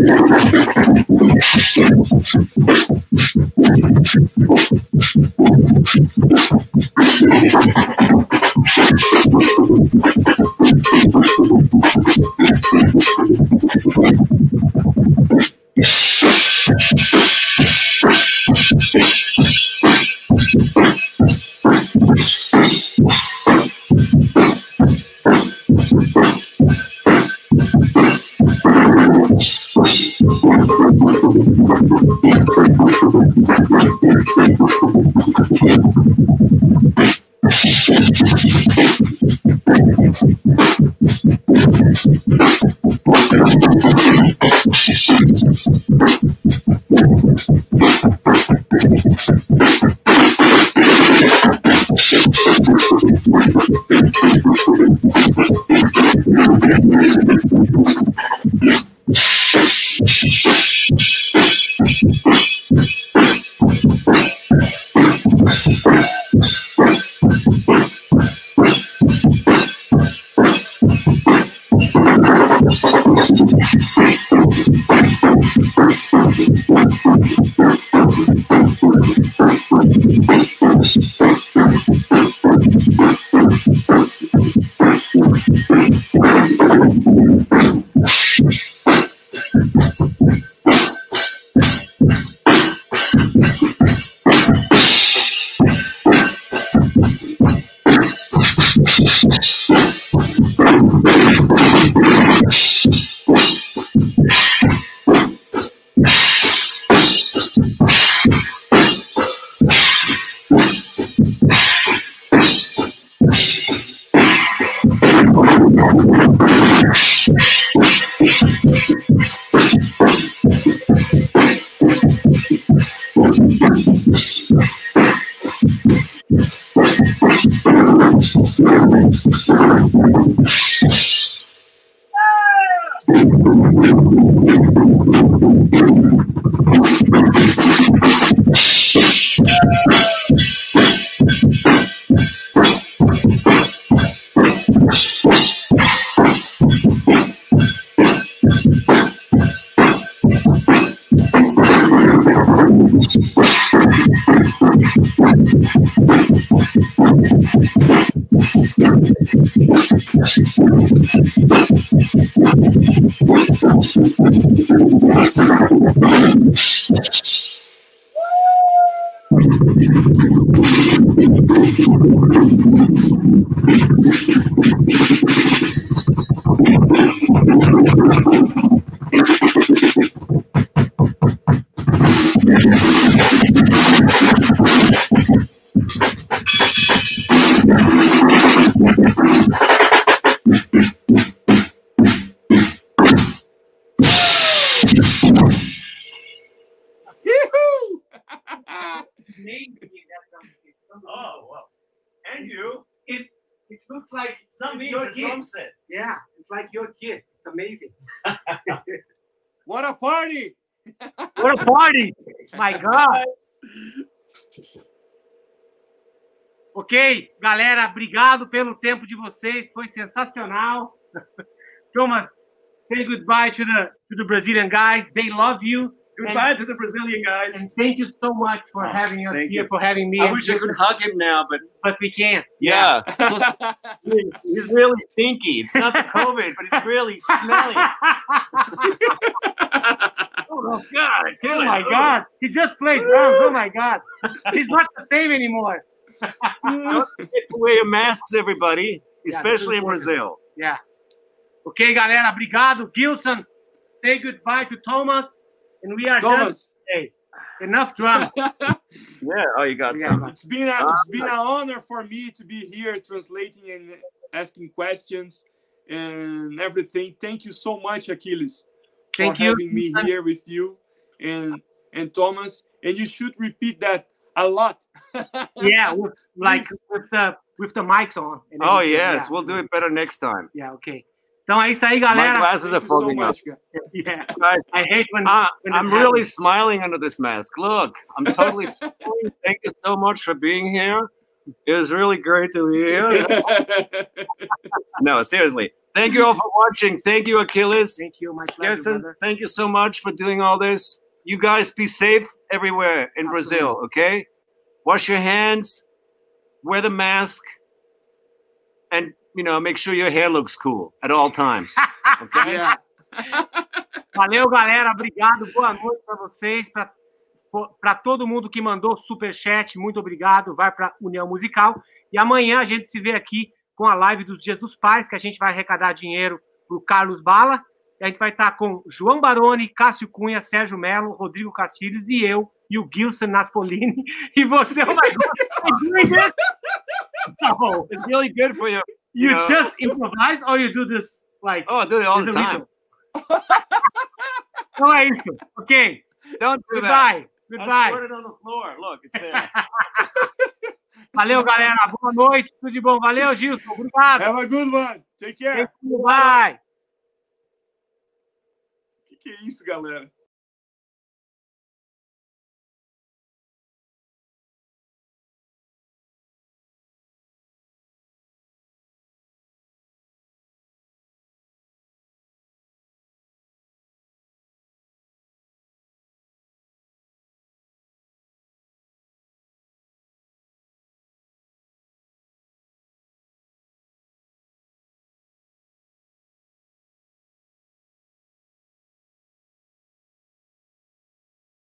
Oh, well. And you. It looks like it's not me, your it's a kid. drum set. Yeah, it's like your kid. It's amazing. What a party! What a party! My God! Ok, galera, obrigado pelo tempo de vocês. Foi sensacional. Thomas, say goodbye to the Brazilian guys. They love you. Goodbye to the Brazilian guys. And thank you so much for having us here, for having me. I wish I could hug him now, but we can't. Yeah. He's really stinky. It's not the COVID, but he's really smelly. Oh, God. Oh, my God. He just played drums. Oh, my God. He's not the same anymore. Don't forget to wear your masks, everybody, especially in Brazil. Yeah. Ok, galera. Obrigado. Gilson, say goodbye to Thomas. And we are done today. Enough drums. Yeah. Oh, you got some. It's been an honor for me to be here translating and asking questions and everything. Thank you so much, Achilles, for having me here with you and Thomas. And you should repeat that a lot. Yeah, with the mics on. Oh yes, we'll do it better next time. Yeah, okay. Então é isso aí, galera. My glasses are fogging up. Yeah. I hate when I'm really smiling under this mask. Look, I'm totally smiling. Thank you so much for being here. It was really great to be here. No, seriously. Thank you all for watching. Thank you, Achilles. Thank you, my pleasure, Gerson, thank you so much for doing all this. You guys be safe everywhere in Brazil, okay? Wash your hands, wear the mask, and, make sure your hair looks cool at all times, okay? Yeah. Valeu, galera. Obrigado. Boa noite para vocês. Para todo mundo que mandou superchat, muito obrigado. Vai para União Musical. E amanhã a gente se vê aqui com a live dos Dias dos Pais, que a gente vai arrecadar dinheiro para o Carlos Bala. E a gente vai estar com João Baroni, Cássio Cunha, Sérgio Melo, Rodrigo Castilhos e eu, e o Gilson Naspolini. E você, oh my God, no. It's really good for you. You just improvise or you do this like... Oh, I do it all the time. Então é isso. Ok. Don't do Goodbye. that. Goodbye. I put it on the floor. Look, it's there. Valeu, galera. Boa noite. Tudo de bom. Valeu, Gilson. Obrigado. Have a good one. Take care. Bye. Que é isso, galera?